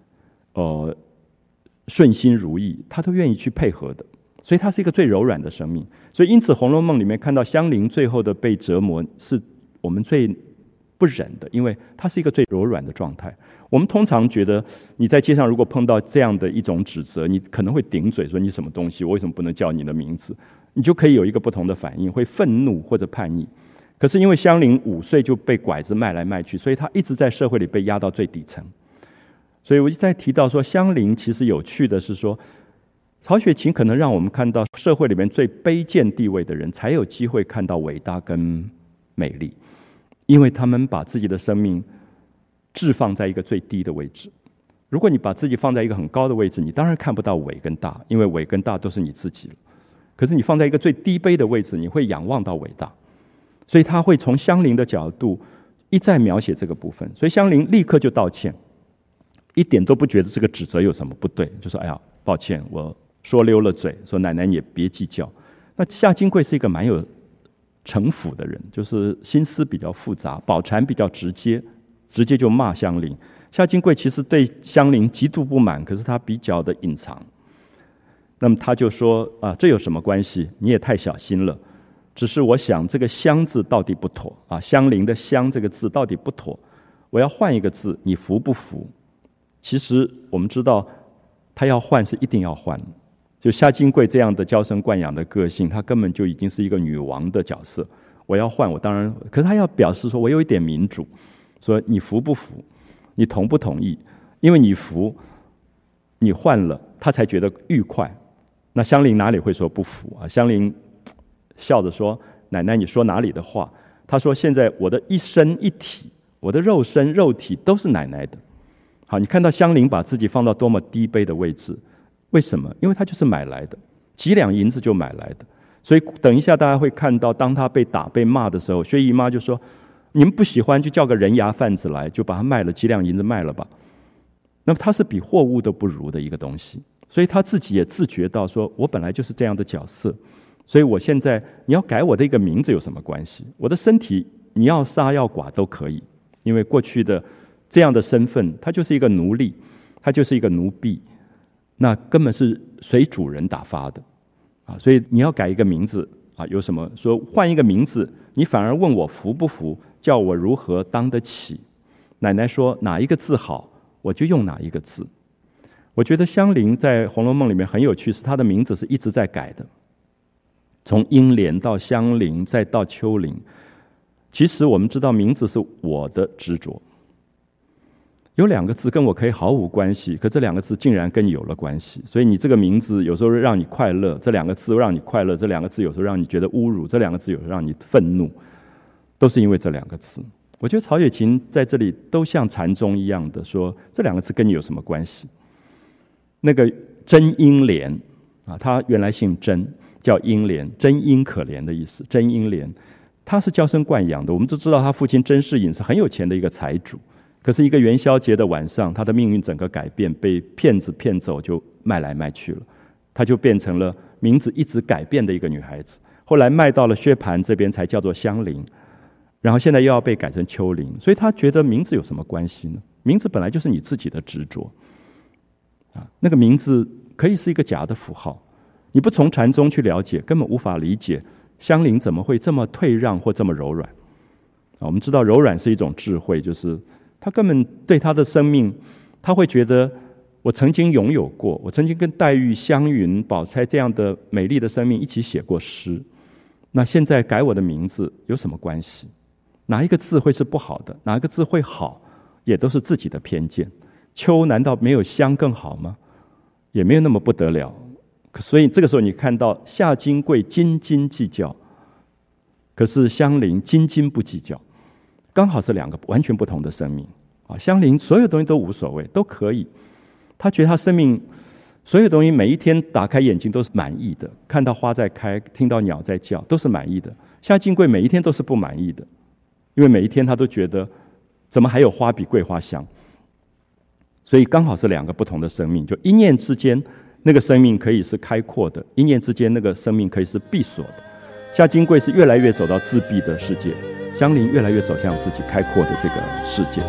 [SPEAKER 1] 顺心如意，他都愿意去配合的。所以他是一个最柔软的生命。所以因此《红楼梦》里面看到香菱最后的被折磨，是我们最不忍的，因为它是一个最柔软的状态。我们通常觉得你在街上如果碰到这样的一种指责，你可能会顶嘴说：你什么东西，我为什么不能叫你的名字？你就可以有一个不同的反应，会愤怒或者叛逆。可是因为香菱5岁就被拐子卖来卖去，所以她一直在社会里被压到最底层。所以我一直在提到说，香菱其实有趣的是说，曹雪芹可能让我们看到社会里面最卑贱地位的人才有机会看到伟大跟美丽，因为他们把自己的生命置放在一个最低的位置。如果你把自己放在一个很高的位置，你当然看不到伟跟大，因为伟跟大都是你自己了。可是你放在一个最低卑的位置，你会仰望到伟大。所以他会从香菱的角度一再描写这个部分。所以香菱立刻就道歉，一点都不觉得这个指责有什么不对，就说：哎呀，抱歉，我说溜了嘴，说奶奶你也别计较。那夏金贵是一个蛮有城府的人，就是心思比较复杂。宝蟾比较直接就骂香菱。夏金贵其实对香菱极度不满，可是他比较的隐藏。那么他就说：这有什么关系？你也太小心了。只是我想这个香字到底不妥啊，香菱的香这个字到底不妥，我要换一个字，你服不服？其实我们知道他要换是一定要换，就夏金贵这样的娇生惯养的个性，他根本就已经是一个女王的角色。我要换，我当然，可是他要表示说我有一点民主，说你服不服，你同不同意？因为你服，你换了，他才觉得愉快。那香菱哪里会说不服啊？香菱笑着说：奶奶你说哪里的话？他说现在我的一身一体我的肉身肉体都是奶奶的。好，你看到香菱把自己放到多么低卑的位置，为什么？因为她就是买来的，几两银子就买来的。所以等一下大家会看到，当她被打被骂的时候，薛姨妈就说，你们不喜欢就叫个人牙贩子来，就把它卖了，几两银子卖了吧。那么她是比货物都不如的一个东西，所以她自己也自觉到说，我本来就是这样的角色，所以我现在你要改我的一个名字有什么关系？我的身体你要杀要剐都可以，因为过去的这样的身份，他就是一个奴隶，他就是一个奴婢，那根本是随主人打发的啊！所以你要改一个名字啊，有什么说换一个名字，你反而问我服不服，叫我如何当得起？奶奶说哪一个字好，我就用哪一个字。我觉得香菱在《红楼梦》里面很有趣，是她的名字是一直在改的，从英莲到香菱，再到秋菱。其实我们知道，名字是我的执着。有两个字跟我可以毫无关系，可这两个字竟然跟你有了关系。所以你这个名字有时候让你快乐，这两个字让你快乐；这两个字有时候让你觉得侮辱，这两个字有时候让你愤怒，都是因为这两个字。我觉得曹雪芹在这里都像禅宗一样的说，这两个字跟你有什么关系？那个真英莲啊，他原来姓甄，叫英莲，真英可怜的意思。真英莲，他是娇生惯养的。我们都知道他父亲甄士隐是很有钱的一个财主，可是一个元宵节的晚上，他的命运整个改变，被骗子骗走，就卖来卖去了。他就变成了名字一直改变的一个女孩子。后来卖到了薛蟠这边，才叫做香菱，然后现在又要被改成秋菱。所以他觉得名字有什么关系呢？名字本来就是你自己的执着啊，那个名字可以是一个假的符号。你不从禅宗去了解，根本无法理解香菱怎么会这么退让或这么柔软啊。我们知道柔软是一种智慧，就是他根本对他的生命，他会觉得我曾经拥有过，我曾经跟黛玉、湘云、宝钗这样的美丽的生命一起写过诗，那现在改我的名字有什么关系？哪一个字会是不好的？哪一个字会好？也都是自己的偏见。秋难道没有香更好吗？也没有那么不得了。所以这个时候你看到夏金桂斤斤计较，可是香菱斤斤不计较，刚好是两个完全不同的生命啊。香菱所有东西都无所谓，都可以，她觉得她生命所有东西每一天打开眼睛都是满意的，看到花在开，听到鸟在叫，都是满意的。夏金桂每一天都是不满意的，因为每一天她都觉得怎么还有花比桂花香。所以刚好是两个不同的生命，就一念之间那个生命可以是开阔的，一念之间那个生命可以是闭锁的。夏金桂是越来越走到自闭的世界，香菱越来越走向自己开阔的这个世界。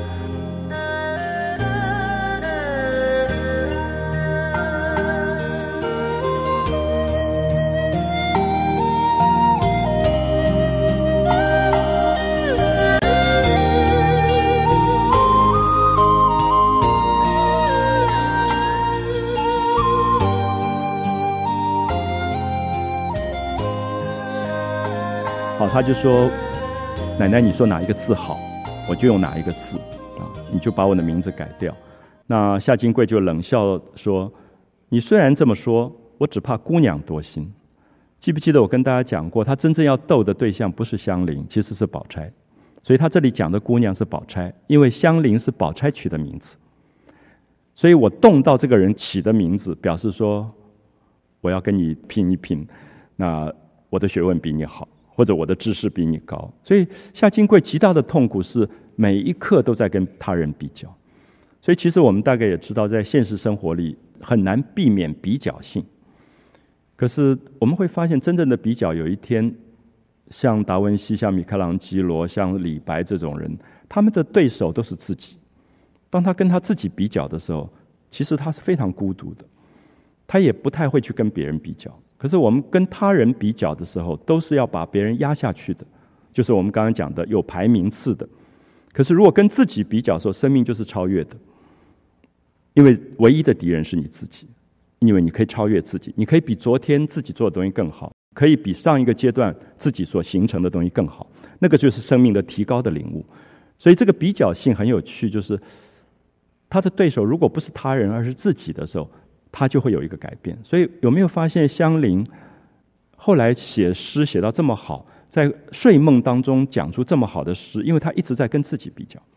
[SPEAKER 1] 好，他就说，奶奶你说哪一个字好，我就用哪一个字啊，你就把我的名字改掉。那夏金桂就冷笑说，你虽然这么说，我只怕姑娘多心。记不记得我跟大家讲过，他真正要斗的对象不是香菱，其实是宝钗。所以他这里讲的姑娘是宝钗，因为香菱是宝钗取的名字，所以我动到这个人起的名字，表示说我要跟你拼一拼，那我的学问比你好，或者我的知识比你高。所以夏金桂极大的痛苦是每一刻都在跟他人比较。所以其实我们大概也知道，在现实生活里很难避免比较性，可是我们会发现真正的比较，有一天像达文西、像米开朗基罗、像李白这种人，他们的对手都是自己。当他跟他自己比较的时候，其实他是非常孤独的，他也不太会去跟别人比较。可是我们跟他人比较的时候，都是要把别人压下去的，就是我们刚刚讲的有排名次的。可是如果跟自己比较的时候，生命就是超越的，因为唯一的敌人是你自己，因为你可以超越自己，你可以比昨天自己做的东西更好，可以比上一个阶段自己所形成的东西更好，那个就是生命的提高的领悟。所以这个比较性很有趣，就是他的对手如果不是他人而是自己的时候，他就会有一个改变。所以有没有发现香菱后来写诗写到这么好，在睡梦当中讲出这么好的诗，因为他一直在跟自己比较。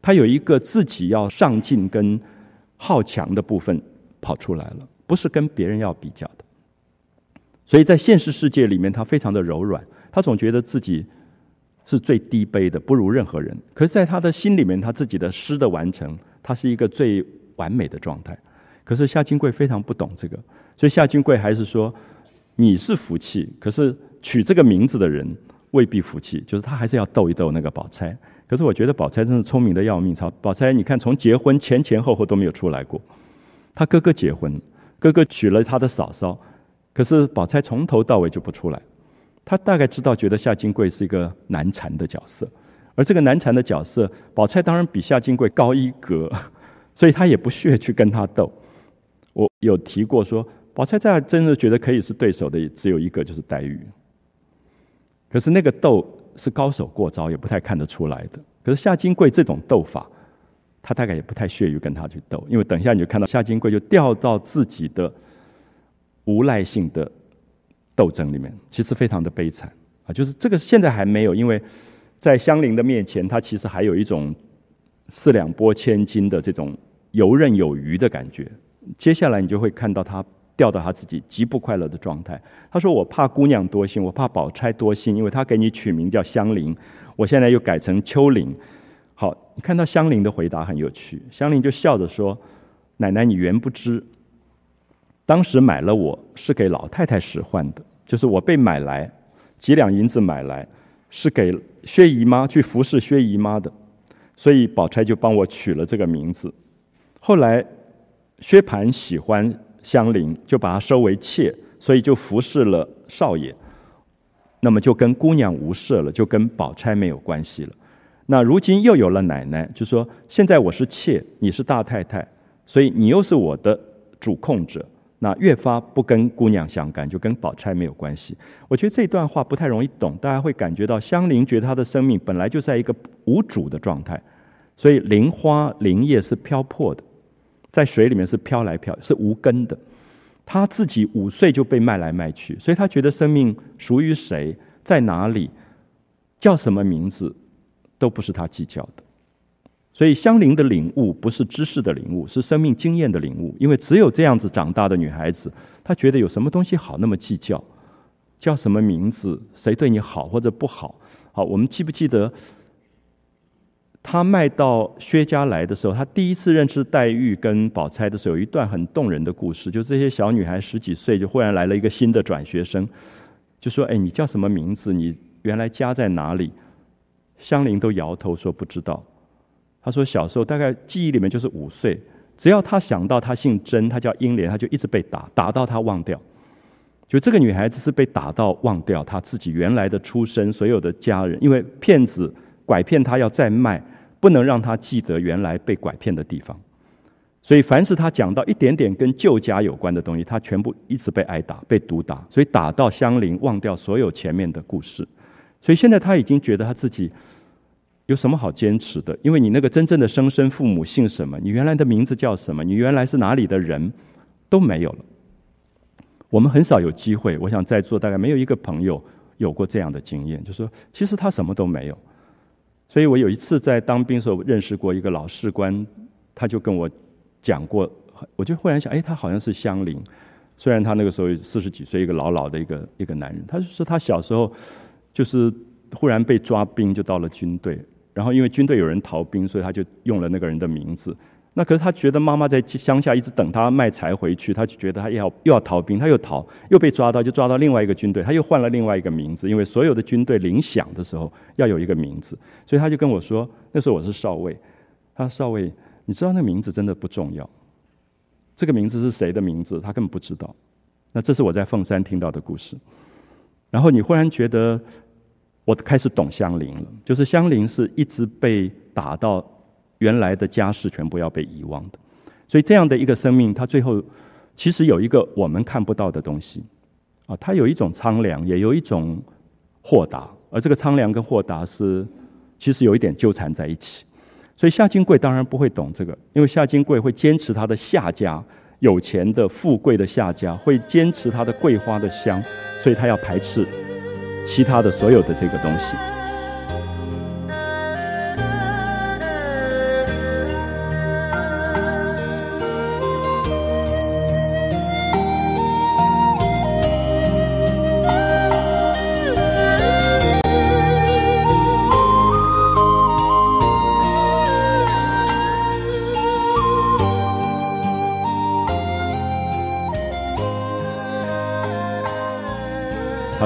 [SPEAKER 1] 他有一个自己要上进跟好强的部分跑出来了，不是跟别人要比较的。所以在现实世界里面，他非常的柔软，他总觉得自己是最低卑的，不如任何人。可是在他的心里面，他自己的诗的完成，他是一个最完美的状态。可是夏金贵非常不懂这个，所以夏金贵还是说，你是福气，可是取这个名字的人未必福气，就是他还是要逗一逗那个宝钗。可是我觉得宝钗真是聪明的要命，宝钗你看从结婚前后都没有出来过。他哥哥结婚，哥哥娶了他的嫂嫂，可是宝钗从头到尾就不出来。他大概知道，觉得夏金贵是一个难缠的角色，而这个难缠的角色，宝钗当然比夏金贵高一格，所以他也不屑去跟他斗。我有提过说，宝钗在真的觉得可以是对手的只有一个，就是黛玉。可是那个斗是高手过招，也不太看得出来的。可是夏金贵这种斗法，他大概也不太屑于跟他去斗，因为等一下你就看到夏金贵就掉到自己的无赖性的斗争里面，其实非常的悲惨啊！就是这个现在还没有，因为在香菱的面前，他其实还有一种四两拨千斤的这种游刃有余的感觉。接下来你就会看到他掉到他自己极不快乐的状态。他说：“我怕姑娘多心，我怕宝钗多心，因为他给你取名叫香菱，我现在又改成秋菱。”好，你看到香菱的回答很有趣，香菱就笑着说：“奶奶，你原不知，当时买了我是给老太太使唤的，就是我被买来几两银子买来，是给薛姨妈去服侍薛姨妈的，所以宝钗就帮我取了这个名字。后来薛蟠喜欢香菱，就把她收为妾，所以就服侍了少爷，那么就跟姑娘无涉了，就跟宝钗没有关系了。那如今又有了奶奶，就说现在我是妾，你是大太太，所以你又是我的主控者，那越发不跟姑娘相干，就跟宝钗没有关系。”我觉得这段话不太容易懂，大家会感觉到香菱觉得她的生命本来就在一个无主的状态，所以菱花菱叶是飘泊的，在水里面是飘来飘，是无根的。她自己5岁就被卖来卖去，所以她觉得生命属于谁，在哪里，叫什么名字，都不是她计较的。所以香菱的领悟不是知识的领悟，是生命经验的领悟。因为只有这样子长大的女孩子，她觉得有什么东西好那么计较，叫什么名字，谁对你好或者不好。好，我们记不记得她卖到薛家来的时候，她第一次认识黛玉跟宝钗的时候，有一段很动人的故事，就这些小女孩10几岁，就忽然来了一个新的转学生，就说：“哎，你叫什么名字？你原来家在哪里？”香菱都摇头说不知道。他说小时候大概记忆里面就是5岁，只要他想到他姓甄，他叫英莲，他就一直被打，打到他忘掉。就这个女孩子是被打到忘掉她自己原来的出身，所有的家人，因为骗子拐骗她要再卖，不能让她记得原来被拐骗的地方。所以凡是她讲到一点点跟旧家有关的东西，她全部一直被挨打，被毒打，所以打到香菱忘掉所有前面的故事。所以现在她已经觉得她自己有什么好坚持的？因为你那个真正的生身父母姓什么，你原来的名字叫什么，你原来是哪里的人，都没有了。我们很少有机会，我想在座大概没有一个朋友有过这样的经验，就是说其实他什么都没有。所以我有一次在当兵的时候认识过一个老士官，他就跟我讲过，我就忽然想，哎，他好像是香菱，虽然他那个时候40几岁，一个老的一个男人。他就说他小时候就是忽然被抓兵，就到了军队。然后因为军队有人逃兵，所以他就用了那个人的名字。那可是他觉得妈妈在乡下一直等他卖柴回去，他就觉得他又要逃兵，他又逃，又被抓到，就抓到另外一个军队，他又换了另外一个名字，因为所有的军队领饷的时候要有一个名字，所以他就跟我说，那时候我是少尉，他说少尉，你知道那个名字真的不重要，这个名字是谁的名字，他根本不知道。那这是我在凤山听到的故事。然后你忽然觉得我开始懂香菱了，就是香菱是一直被打到原来的家世全部要被遗忘的。所以这样的一个生命，它最后其实有一个我们看不到的东西啊，它有一种苍凉，也有一种豁达，而这个苍凉跟豁达是其实有一点纠缠在一起。所以夏金贵当然不会懂这个，因为夏金贵会坚持他的夏家，有钱的富贵的夏家，会坚持他的桂花的香，所以他要排斥其他的所有的这个东西。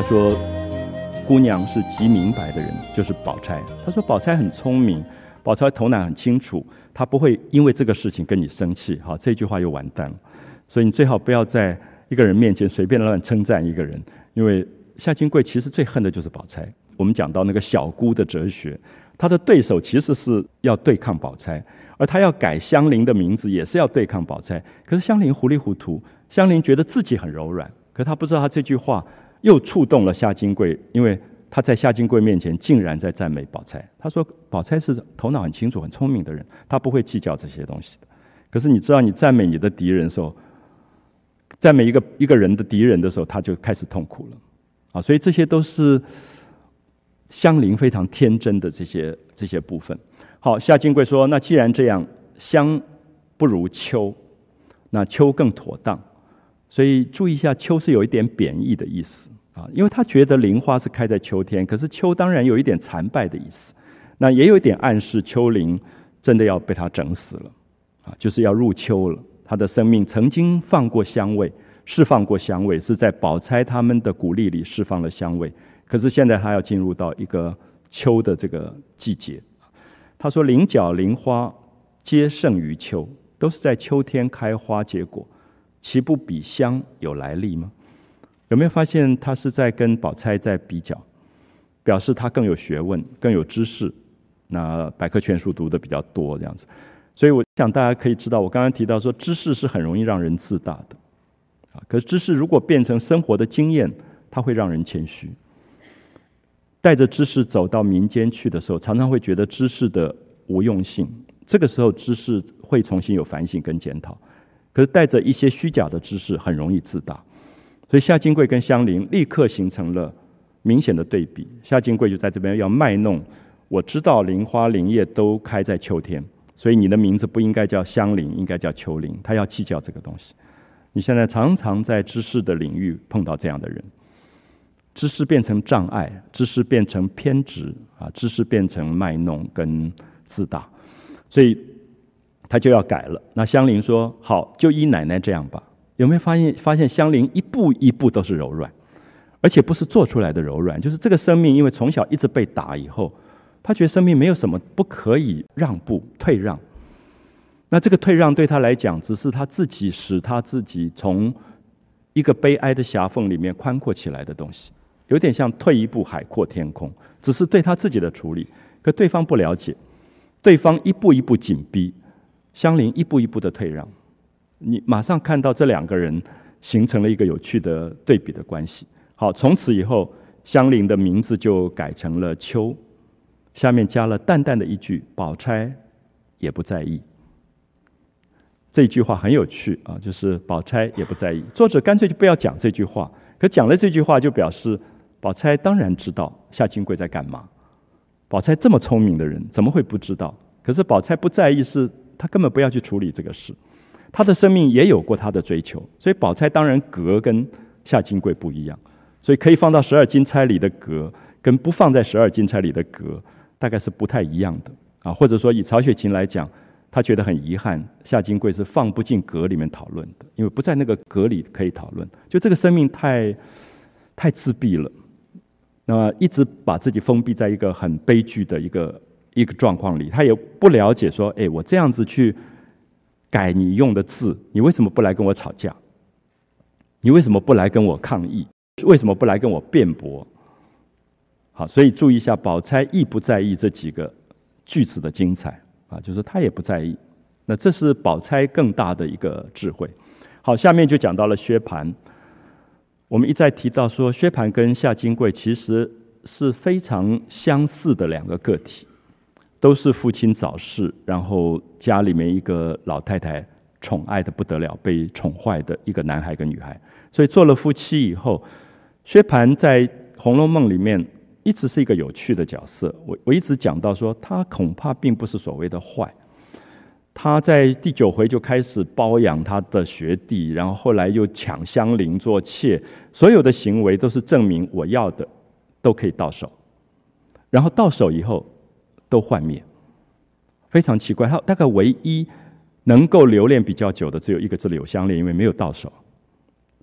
[SPEAKER 1] 说姑娘是极明白的人，就是宝钗。他说宝钗很聪明，宝钗头脑很清楚，她不会因为这个事情跟你生气。好，这句话又完蛋了。所以你最好不要在一个人面前随便乱称赞一个人，因为夏金桂其实最恨的就是宝钗。我们讲到那个小姑的哲学，她的对手其实是要对抗宝钗，而她要改香菱的名字也是要对抗宝钗。可是香菱糊里糊涂，香菱觉得自己很柔软，可她不知道她这句话又触动了夏金桂，因为她在夏金桂面前竟然在赞美宝钗。她说宝钗是头脑很清楚很聪明的人，她不会计较这些东西的。可是你知道，你赞美你的敌人的时候，赞美一个人的敌人的时候，他就开始痛苦了啊！所以这些都是香菱非常天真的这些部分。好，夏金桂说：“那既然这样，香不如秋，那秋更妥当。”所以注意一下，秋是有一点贬义的意思啊，因为他觉得菱花是开在秋天，可是秋当然有一点残败的意思，那也有一点暗示秋菱真的要被他整死了啊，就是要入秋了。他的生命曾经放过香味，释放过香味，是在宝钗他们的鼓励里释放了香味。可是现在他要进入到一个秋的这个季节。他说：“菱角菱花皆胜于秋，都是在秋天开花结果，岂不比香有来历吗？”有没有发现他是在跟宝钗在比较，表示他更有学问，更有知识，那百科全书读的比较多这样子。所以我想大家可以知道，我刚刚提到说知识是很容易让人自大的啊，可是知识如果变成生活的经验，它会让人谦虚。带着知识走到民间去的时候，常常会觉得知识的无用性，这个时候知识会重新有反省跟检讨。可是带着一些虚假的知识，很容易自大。所以夏金桂跟香菱立刻形成了明显的对比。夏金桂就在这边要卖弄，我知道菱花菱叶都开在秋天，所以你的名字不应该叫香菱，应该叫秋菱。他要计较这个东西。你现在常常在知识的领域碰到这样的人，知识变成障碍，知识变成偏执啊，知识变成卖弄跟自大，所以他就要改了。那香菱说：“好，就依奶奶这样吧。”有没有发现香菱一步一步都是柔软，而且不是做出来的柔软，就是这个生命因为从小一直被打以后，他觉得生命没有什么不可以让步退让。那这个退让对他来讲，只是他自己使他自己从一个悲哀的狭缝里面宽阔起来的东西，有点像退一步海阔天空，只是对他自己的处理。可对方不了解，对方一步一步紧逼，香菱一步一步的退让，你马上看到这两个人形成了一个有趣的对比的关系。好，从此以后，香菱的名字就改成了秋，下面加了淡淡的一句：“宝钗也不在意。”这句话很有趣啊，就是宝钗也不在意。作者干脆就不要讲这句话，可讲了这句话就表示宝钗当然知道夏金桂在干嘛。宝钗这么聪明的人，怎么会不知道？可是宝钗不在意，是她根本不要去处理这个事。她的生命也有过她的追求，所以宝钗当然格跟夏金桂不一样，所以可以放到12金钗里的格，跟不放在12金钗里的格，大概是不太一样的啊。或者说以曹雪芹来讲，他觉得很遗憾，夏金桂是放不进格里面讨论的，因为不在那个格里可以讨论。就这个生命太自闭了，那么一直把自己封闭在一个很悲剧的一个状况里，他也不了解说，我这样子去改你用的字，你为什么不来跟我吵架？你为什么不来跟我抗议？为什么不来跟我辩驳？好，所以注意一下，宝钗意不在意这几个句子的精彩啊，就是他也不在意。那这是宝钗更大的一个智慧。好，下面就讲到了薛蟠。我们一再提到说，薛蟠跟夏金桂其实是非常相似的两个个体，都是父亲早逝，然后家里面一个老太太宠爱的不得了，被宠坏的一个男孩跟女孩。所以做了夫妻以后，薛蟠在《红楼梦》里面一直是一个有趣的角色。我一直讲到说，他恐怕并不是所谓的坏。他在第9回就开始包养他的学弟，然后后来又抢香菱做妾，所有的行为都是证明我要的都可以到手，然后到手以后都幻灭，非常奇怪。他大概唯一能够留恋比较久的只有一个是柳湘莲，因为没有到手，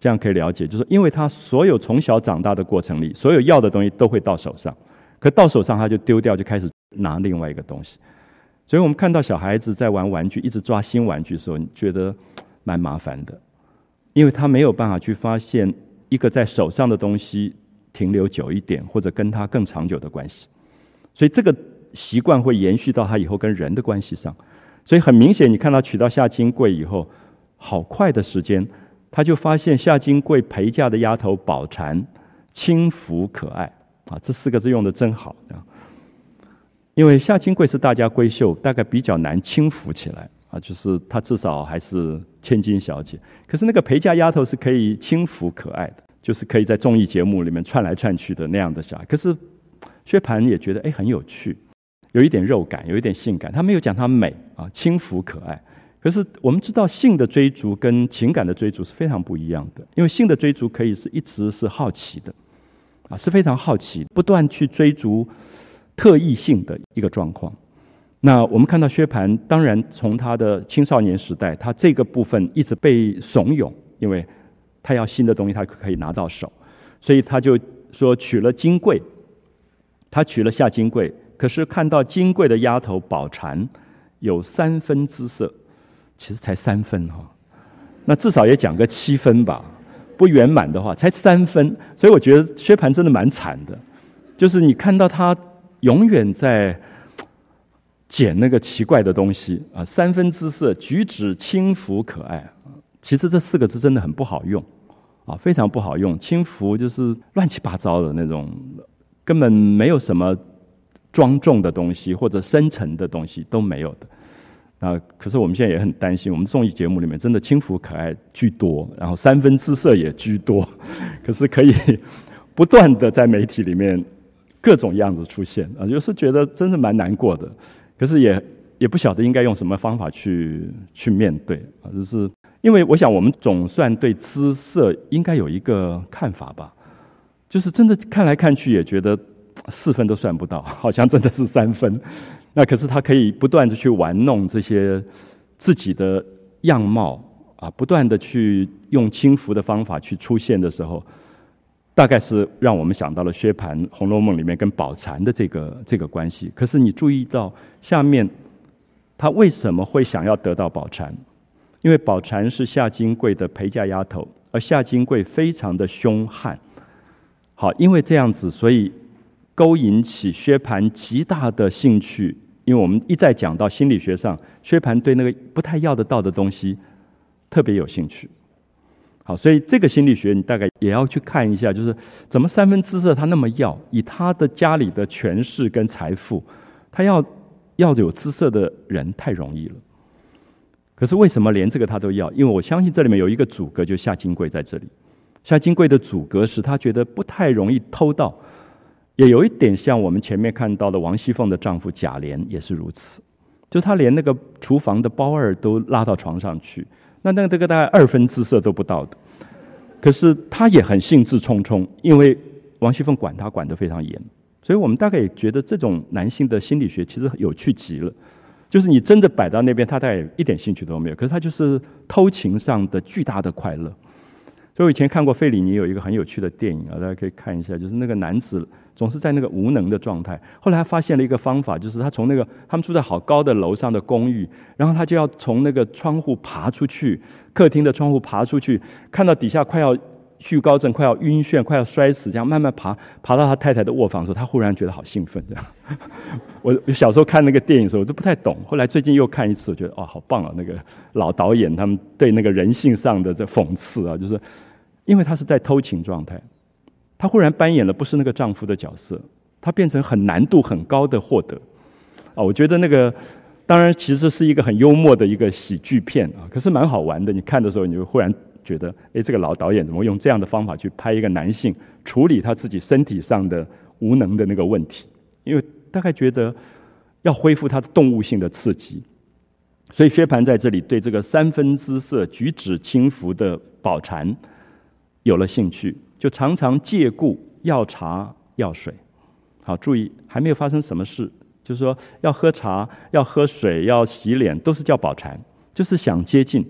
[SPEAKER 1] 这样可以了解，就是因为他所有从小长大的过程里，所有要的东西都会到手上，可到手上他就丢掉，就开始拿另外一个东西。所以我们看到小孩子在玩玩具，一直抓新玩具的时候，你觉得蛮麻烦的，因为他没有办法去发现一个在手上的东西停留久一点，或者跟他更长久的关系。所以这个习惯会延续到他以后跟人的关系上。所以很明显，你看到娶到夏金贵以后，好快的时间，他就发现夏金贵陪嫁的丫头宝蟾轻浮可爱啊，这4个字用的真好啊。因为夏金贵是大家闺秀，大概比较难轻浮起来啊，就是她至少还是千金小姐。可是那个陪嫁丫头是可以轻浮可爱的，就是可以在综艺节目里面窜来窜去的那样的小孩。可是薛蟠也觉得很有趣，有一点肉感，有一点性感。他没有讲她美啊，轻浮可爱。可是我们知道性的追逐跟情感的追逐是非常不一样的，因为性的追逐可以是一直是好奇的啊，是非常好奇，不断去追逐特异性的一个状况。那我们看到薛蟠，当然从他的青少年时代，他这个部分一直被怂恿，因为他要新的东西，他可以拿到手，所以他就说娶了金贵，他娶了夏金贵，可是看到金贵的丫头宝蟾有3分姿色，其实才3分哈，那至少也讲个7分吧，不圆满的话才3分，所以我觉得薛蟠真的蛮惨的，就是你看到他永远在捡那个奇怪的东西啊，3分姿色，举止轻浮可爱。其实这4个字真的很不好用啊，非常不好用。轻浮就是乱七八糟的那种，根本没有什么庄重的东西或者深沉的东西都没有的。可是我们现在也很担心，我们综艺节目里面真的轻浮可爱居多，然后3分姿色也居多，可是可以不断的在媒体里面各种样子出现啊，有时觉得真是蛮难过的，可是也不晓得应该用什么方法去面对啊，就是因为我想我们总算对姿色应该有一个看法吧，就是真的看来看去也觉得4分都算不到，好像真的是3分。那可是他可以不断的去玩弄这些自己的样貌啊，不断的去用轻浮的方法去出现的时候，大概是让我们想到了薛蟠《红楼梦》里面跟宝蟾的这个关系。可是你注意到下面他为什么会想要得到宝蟾？因为宝蟾是夏金贵的陪嫁丫头，而夏金贵非常的凶悍。好，因为这样子，所以勾引起薛蟠极大的兴趣。因为我们一再讲到心理学上，薛蟠对那个不太要得到的东西特别有兴趣。好，所以这个心理学你大概也要去看一下，就是怎么3分姿色他那么要，以他的家里的权势跟财富，他要有姿色的人太容易了。可是为什么连这个他都要？因为我相信这里面有一个阻隔，就是夏金贵在这里。夏金贵的阻隔是他觉得不太容易偷到。也有一点像我们前面看到的王熙凤的丈夫贾琏也是如此，就是他连那个厨房的包二都拉到床上去，那这个大概2分姿色都不到的，可是他也很兴致冲冲，因为王熙凤管他管得非常严，所以我们大概也觉得这种男性的心理学其实有趣极了，就是你真的摆到那边，他大概一点兴趣都没有，可是他就是偷情上的巨大的快乐。所以我以前看过费里尼有一个很有趣的电影啊，大家可以看一下，就是那个男子总是在那个无能的状态，后来他发现了一个方法，就是他从那个他们住在好高的楼上的公寓，然后他就要从那个窗户爬出去，客厅的窗户爬出去，看到底下快要惧高症，快要晕眩，快要摔死，这样慢慢爬到他太太的卧房的时候，他忽然觉得好兴奋这样。我小时候看那个电影的时候我都不太懂，后来最近又看一次，我觉得好棒啊，那个老导演他们对那个人性上的这讽刺啊，就是因为他是在偷情状态，他忽然扮演了不是那个丈夫的角色，他变成很难度很高的获得啊。我觉得那个当然其实是一个很幽默的一个喜剧片啊，可是蛮好玩的。你看的时候，你就忽然觉得，这个老导演怎么用这样的方法去拍一个男性处理他自己身体上的无能的那个问题？因为大概觉得要恢复他的动物性的刺激，所以薛蟠在这里对这个3分姿色、举止轻浮的宝蟾有了兴趣，就常常借故要茶要水。好，注意还没有发生什么事，就是说要喝茶、要喝水、要洗脸，都是叫宝蟾，就是想接近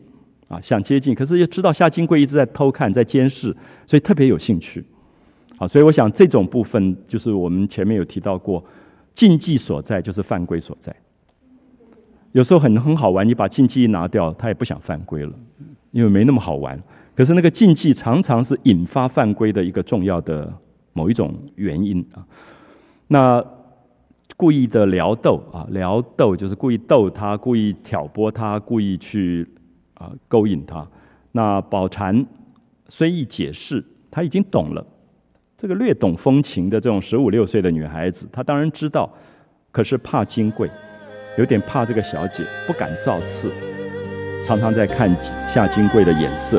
[SPEAKER 1] 想接近，可是又知道夏金贵一直在偷看、在监视，所以特别有兴趣。所以我想这种部分就是我们前面有提到过，禁忌所在就是犯规所在。有时候很好玩，你把禁忌一拿掉，他也不想犯规了，因为没那么好玩。可是那个禁忌常常是引发犯规的一个重要的某一种原因那故意的撩逗撩逗就是故意逗他，故意挑拨他，故意去勾引他。那宝蟾虽一解释，他已经懂了。这个略懂风情的这种15、16岁的女孩子，她当然知道，可是怕金贵，有点怕这个小姐，不敢造次，常常在看夏金贵的眼色。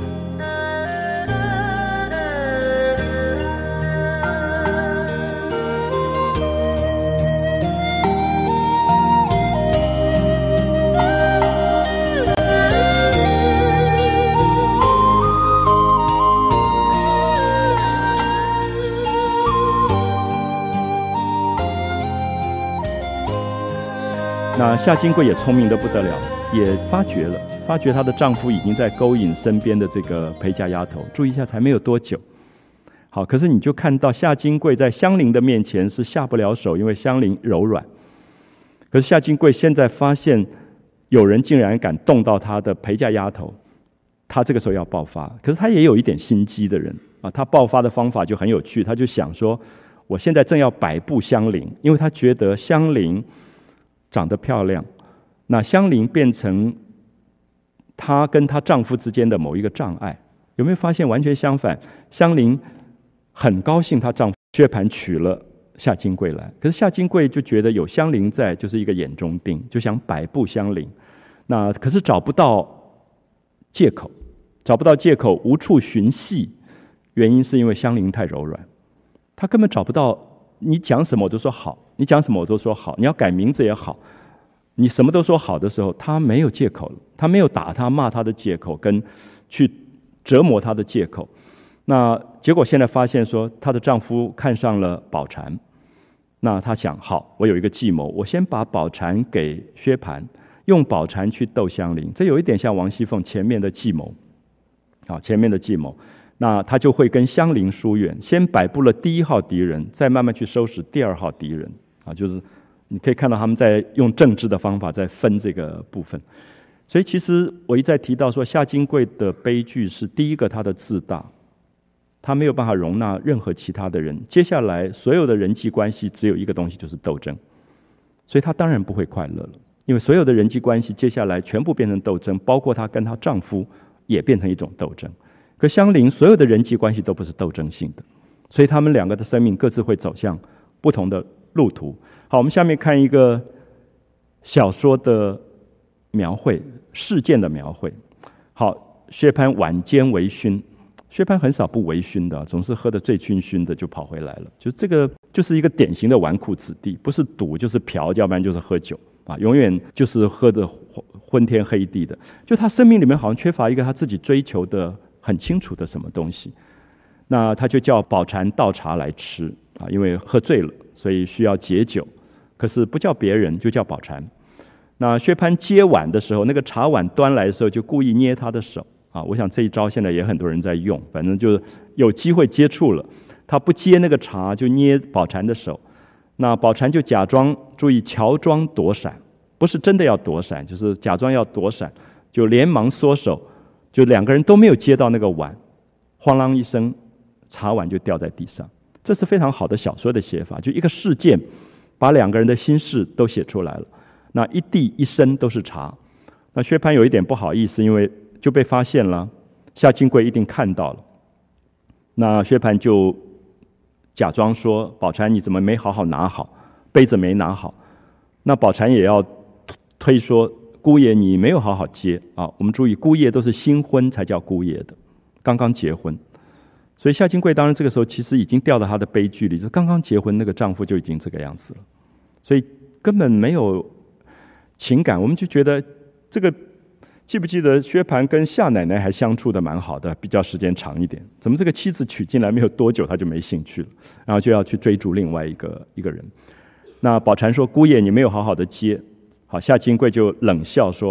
[SPEAKER 1] 那夏金贵也聪明得不得了，也发觉她的丈夫已经在勾引身边的这个陪嫁丫头。注意一下，才没有多久。好，可是你就看到夏金贵在香菱的面前是下不了手，因为香菱柔软。可是夏金贵现在发现有人竟然敢动到她的陪嫁丫头，她这个时候要爆发。可是她也有一点心机的人她爆发的方法就很有趣，她就想说，我现在正要摆布香菱，因为她觉得香菱长得漂亮，那香菱变成她跟她丈夫之间的某一个障碍。有没有发现完全相反？香菱很高兴她丈夫薛蟠娶了夏金贵来，可是夏金贵就觉得有香菱在就是一个眼中钉，就想摆布香菱。那可是找不到借口，无处寻隙。原因是因为香菱太柔软，她根本找不到，你讲什么我都说好，你讲什么我都说好，你要改名字也好，你什么都说好的时候，她没有借口了，她没有打她骂她的借口，跟去折磨她的借口。那结果现在发现说，她的丈夫看上了宝蟾，那她想，好，我有一个计谋，我先把宝蟾给薛蟠，用宝蟾去斗香菱，这有一点像王熙凤前面的计谋那他就会跟香菱疏远，先摆布了第1号敌人，再慢慢去收拾第2号敌人就是你可以看到他们在用政治的方法在分这个部分。所以其实我一再提到说，夏金贵的悲剧是第一个，他的自大，他没有办法容纳任何其他的人，接下来所有的人际关系只有一个东西，就是斗争，所以他当然不会快乐了，因为所有的人际关系接下来全部变成斗争，包括她跟她丈夫也变成一种斗争。可香菱所有的人际关系都不是斗争性的，所以他们两个的生命各自会走向不同的路途。好，我们下面看一个小说的描绘，事件的描绘。好，薛蟠晚间微醺，薛蟠很少不微醺的，总是喝得醉醺醺的就跑回来了。就这个就是一个典型的纨绔子弟，不是赌就是嫖，要不然就是喝酒永远就是喝得昏天黑地的。就他生命里面好像缺乏一个他自己追求的很清楚的什么东西。那他就叫宝蟾倒茶来吃因为喝醉了，所以需要解酒，可是不叫别人，就叫宝蟾。那薛蟠接碗的时候，那个茶碗端来的时候就故意捏他的手我想这一招现在也很多人在用，反正就是有机会接触了，他不接那个茶就捏宝蟾的手，那宝蟾就假装，注意乔装躲闪，不是真的要躲闪，就是假装要躲闪，就连忙缩手，就两个人都没有接到那个碗，哐啷一声，茶碗就掉在地上。这是非常好的小说的写法，就一个事件把两个人的心事都写出来了。那一地一身都是茶，那薛蟠有一点不好意思，因为就被发现了，夏金贵一定看到了。那薛蟠就假装说：“宝蟾，你怎么没好好拿好？杯子没拿好。”那宝蟾也要推说：“姑爷，你没有好好接我们注意，姑爷都是新婚才叫姑爷的，刚刚结婚。所以夏金贵当然这个时候其实已经掉到她的悲剧里，就刚刚结婚那个丈夫就已经这个样子了，所以根本没有情感。我们就觉得这个。记不记得薛蟠跟夏奶奶还相处的蛮好的，比较时间长一点，怎么这个妻子娶进来没有多久他就没兴趣了，然后就要去追逐另外一个人。那宝蟾说：“姑爷，你没有好好的接。”好，夏金贵就冷笑说：“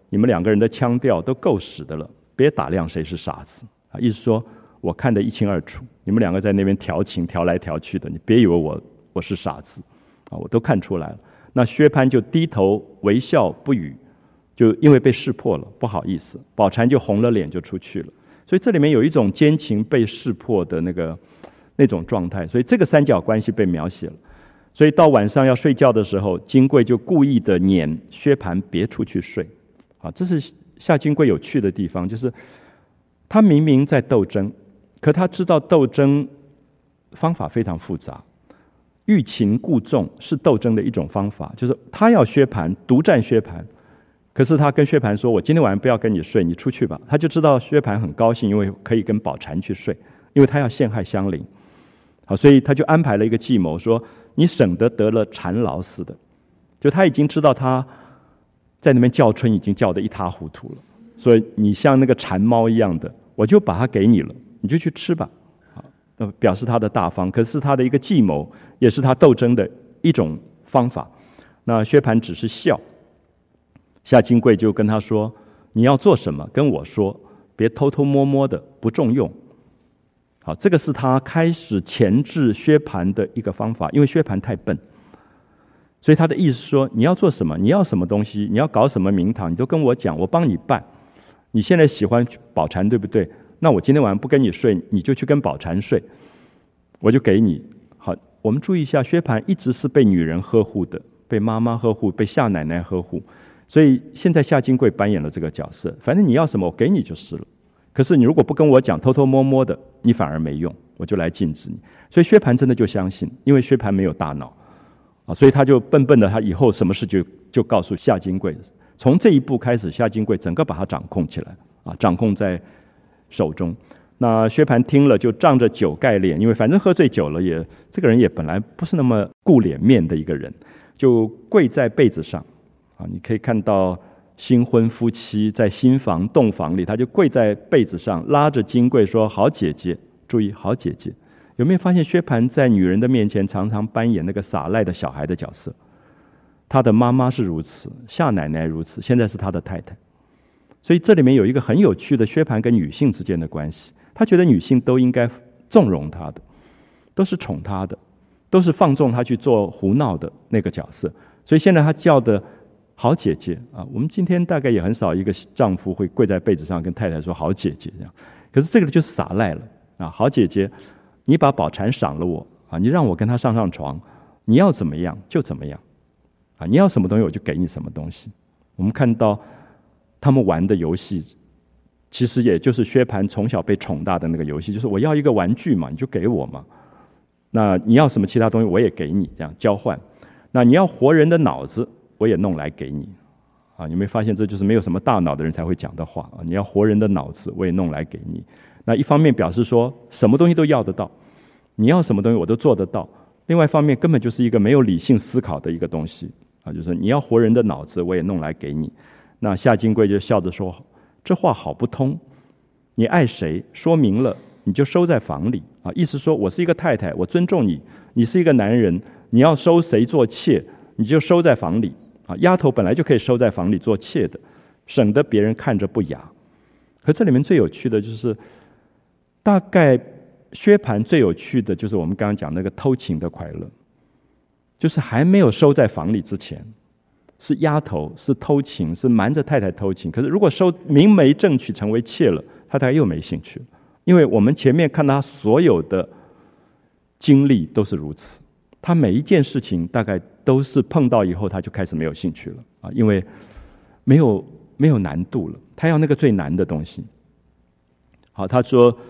[SPEAKER 1] 你们两个人的腔调都够使的了，别打量谁是傻子啊！意思说我看得一清二楚，你们两个在那边调情调来调去的，你别以为我是傻子啊，我都看出来了。那薛蟠就低头微笑不语，就因为被识破了，不好意思，宝钗就红了脸就出去了。所以这里面有一种奸情被识破的那种状态，所以这个三角关系被描写了。所以到晚上要睡觉的时候，金贵就故意的撵薛蟠别出去睡啊，这是夏金贵有趣的地方，就是他明明在斗争，可他知道斗争方法非常复杂，欲擒故纵是斗争的一种方法，就是他要薛蟠独占薛蟠，可是他跟薛蟠说，我今天晚上不要跟你睡，你出去吧。他就知道薛蟠很高兴，因为可以跟宝钗去睡，因为他要陷害香菱。好，所以他就安排了一个计谋，说你省得了缠牢似的，就他已经知道他在那边叫春已经叫得一塌糊涂了，所以你像那个馋猫一样的，我就把它给你了，你就去吃吧。表示他的大方，可是他的一个计谋，也是他斗争的一种方法。那薛蟠只是笑，夏金贵就跟他说，你要做什么跟我说，别偷偷摸摸的，不中用。好，这个是他开始钳制薛蟠的一个方法，因为薛蟠太笨，所以他的意思说，你要做什么，你要什么东西，你要搞什么名堂，你都跟我讲，我帮你办。你现在喜欢宝钗对不对？那我今天晚上不跟你睡，你就去跟宝钗睡，我就给你。好，我们注意一下，薛蟠一直是被女人呵护的，被妈妈呵护，被夏奶奶呵护，所以现在夏金贵扮演了这个角色，反正你要什么我给你就是了。可是你如果不跟我讲，偷偷摸摸的，你反而没用，我就来禁止你。所以薛蟠真的就相信，因为薛蟠没有大脑啊，所以他就笨笨的，他以后什么事就告诉夏金贵。从这一步开始，夏金贵整个把他掌控起来啊，掌控在手中。那薛蟠听了就仗着酒盖脸，因为反正喝醉酒了这个人也本来不是那么顾脸面的一个人，就跪在被子上啊，你可以看到新婚夫妻在新房洞房里，他就跪在被子上，拉着金贵说，好姐姐，注意好姐姐。有没有发现薛蟠在女人的面前常常扮演那个撒赖的小孩的角色？他的妈妈是如此，夏奶奶如此，现在是他的太太。所以这里面有一个很有趣的薛蟠跟女性之间的关系，他觉得女性都应该纵容他的，都是宠他的，都是放纵他去做胡闹的那个角色。所以现在他叫的好姐姐啊，我们今天大概也很少一个丈夫会跪在被子上跟太太说好姐姐这样，可是这个就是撒赖了啊，好姐姐，你把宝钗赏了我啊，你让我跟她上床，你要怎么样就怎么样啊，你要什么东西我就给你什么东西。我们看到他们玩的游戏，其实也就是薛蟠从小被宠大的那个游戏，就是我要一个玩具嘛，你就给我嘛，那你要什么其他东西我也给你，这样交换。那你要活人的脑子我也弄来给你啊，你没发现这就是没有什么大脑的人才会讲的话啊？你要活人的脑子我也弄来给你。那一方面表示说什么东西都要得到，你要什么东西我都做得到，另外一方面根本就是一个没有理性思考的一个东西啊，就是你要活人的脑子我也弄来给你。那夏金贵就笑着说，这话好不通，你爱谁说明了你就收在房里啊，意思说我是一个太太，我尊重你，你是一个男人，你要收谁做妾你就收在房里啊，丫头本来就可以收在房里做妾的，省得别人看着不雅。可这里面最有趣的就是，大概薛蟠最有趣的就是我们刚刚讲那个偷情的快乐，就是还没有收在房里之前是丫头，是偷情，是瞒着太太偷情。可是如果收明媒正娶成为妾了，他大概又没兴趣了，因为我们前面看他所有的经历都是如此，他每一件事情大概都是碰到以后他就开始没有兴趣了啊，因为没有难度了，他要那个最难的东西。好，他说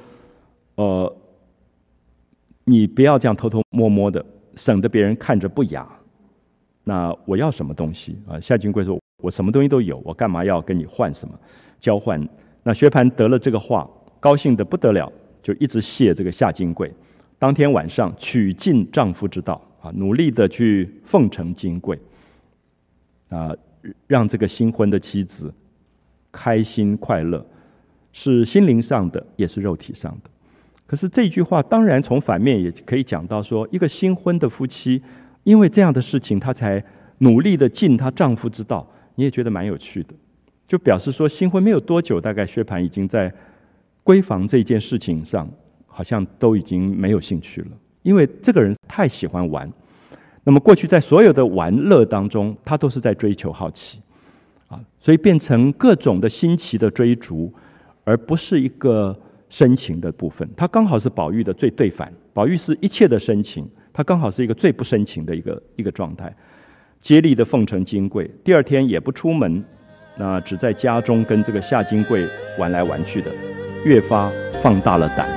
[SPEAKER 1] 你不要这样偷偷摸摸的，省得别人看着不雅。那我要什么东西啊？夏金贵说，我什么东西都有，我干嘛要跟你换什么交换？那薛蟠得了这个话，高兴得不得了，就一直谢这个夏金贵。当天晚上取尽丈夫之道啊，努力的去奉承金贵啊，让这个新婚的妻子开心快乐，是心灵上的，也是肉体上的。可是这句话当然从反面也可以讲到说，一个新婚的夫妻因为这样的事情她才努力的尽她丈夫之道，你也觉得蛮有趣的就表示说新婚没有多久，大概薛蟠已经在闺房这件事情上好像都已经没有兴趣了，因为这个人太喜欢玩。那么过去在所有的玩乐当中，他都是在追求好奇所以变成各种的新奇的追逐，而不是一个深情的部分。他刚好是宝玉的最对反，宝玉是一切的深情，他刚好是一个最不深情的一个状态。接力的奉承金柜，第二天也不出门，那只在家中跟这个夏金桂玩来玩去的，越发放大了胆。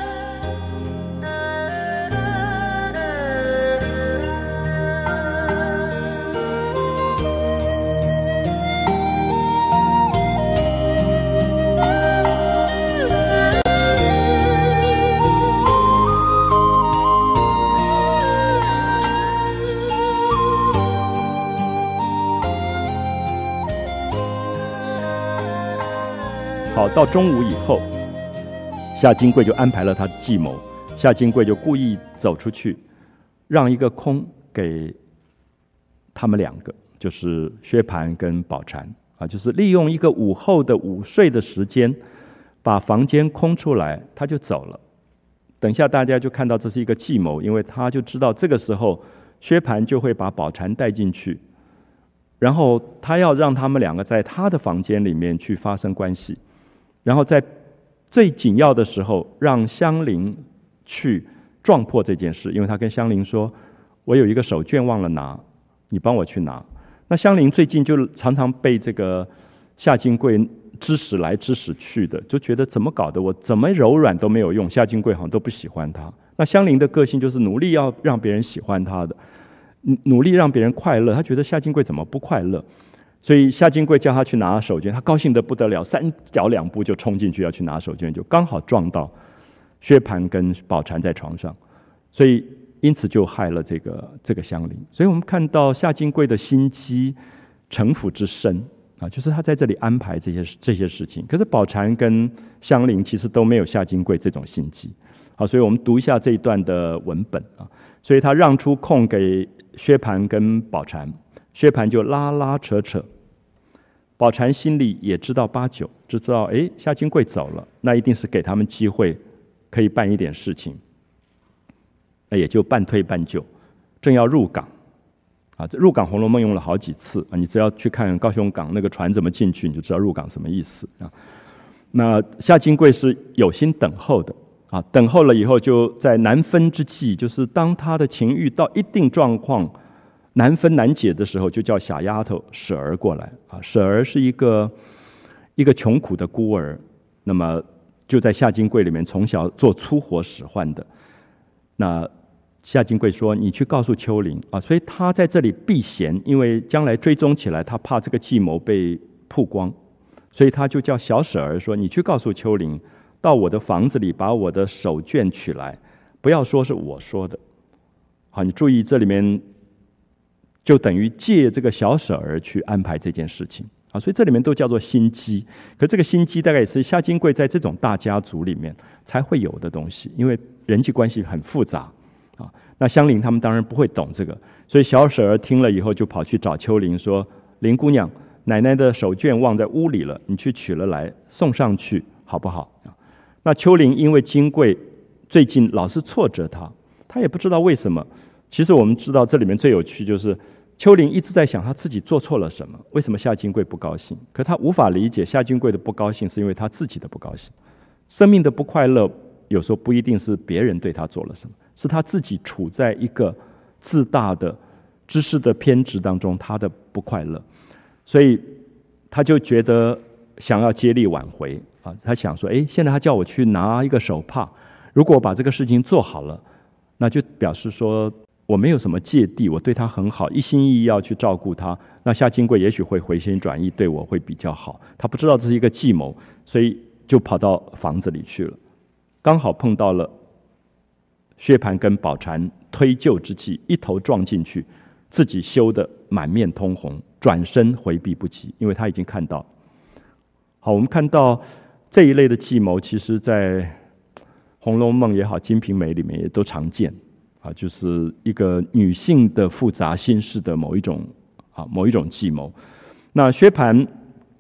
[SPEAKER 1] 好，到中午以后，夏金桂就安排了他的计谋。夏金桂就故意走出去，让一个空给他们两个，就是薛蟠跟宝钗就是利用一个午后的午睡的时间，把房间空出来，他就走了。等一下大家就看到这是一个计谋，因为他就知道这个时候薛蟠就会把宝钗带进去，然后他要让他们两个在他的房间里面去发生关系。然后在最紧要的时候，让香菱去撞破这件事，因为他跟香菱说：“我有一个手绢忘了拿，你帮我去拿。”那香菱最近就常常被这个夏金桂指使来指使去的，就觉得怎么搞的，我怎么柔软都没有用，夏金桂好像都不喜欢他。那香菱的个性就是努力要让别人喜欢他的，努力让别人快乐，他觉得夏金桂怎么不快乐？所以夏金桂叫他去拿手绢，他高兴得不得了，三脚两步就冲进去要去拿手绢，就刚好撞到薛蟠跟宝钗在床上，所以因此就害了这个香菱。所以我们看到夏金桂的心机城府之深就是他在这里安排这些事情。可是宝钗跟香菱其实都没有夏金桂这种心机。好，所以我们读一下这一段的文本所以他让出空给薛蟠跟宝钗，薛蟠就拉拉扯扯，宝钗心里也知道八九，就知道夏金桂走了，那一定是给他们机会可以办一点事情，那也就半推半就，正要入港入港《红楼梦》用了好几次你只要去看高雄港那个船怎么进去，你就知道入港什么意思那夏金桂是有心等候的等候了以后，就在难分之际，就是当他的情欲到一定状况难分难解的时候，就叫小丫头舍儿过来舍儿是一个穷苦的孤儿，那么就在夏金桂里面从小做粗活使唤的。那夏金桂说：“你去告诉秋玲所以他在这里避嫌，因为将来追踪起来，他怕这个计谋被曝光，所以他就叫小舍儿说：你去告诉秋玲，到我的房子里把我的手绢取来，不要说是我说的。好，你注意这里面。”就等于借这个小舍儿去安排这件事情所以这里面都叫做心机。可这个心机大概也是夏金桂在这种大家族里面才会有的东西，因为人际关系很复杂那香菱他们当然不会懂这个，所以小舍儿听了以后就跑去找秋玲说：“林姑娘，奶奶的手绢忘在屋里了，你去取了来送上去好不好？”那秋玲因为金桂最近老是挫折她也不知道为什么。其实我们知道这里面最有趣就是秋玲一直在想她自己做错了什么，为什么夏金桂不高兴？可她无法理解夏金桂的不高兴是因为她自己的不高兴。生命的不快乐有时候不一定是别人对她做了什么，是她自己处在一个自大的知识的偏执当中，她的不快乐，所以她就觉得想要接力挽回她想说现在她叫我去拿一个手帕，如果我把这个事情做好了，那就表示说我没有什么芥蒂，我对他很好，一心一意要去照顾他，那夏金桂也许会回心转意，对我会比较好。他不知道这是一个计谋，所以就跑到房子里去了，刚好碰到了薛蟠跟宝钗推就之际，一头撞进去，自己羞得满面通红，转身回避不及，因为他已经看到。好，我们看到这一类的计谋，其实在《红楼梦》也好，《金瓶梅》里面也都常见就是一个女性的复杂心事的某一种计谋。那薛蟠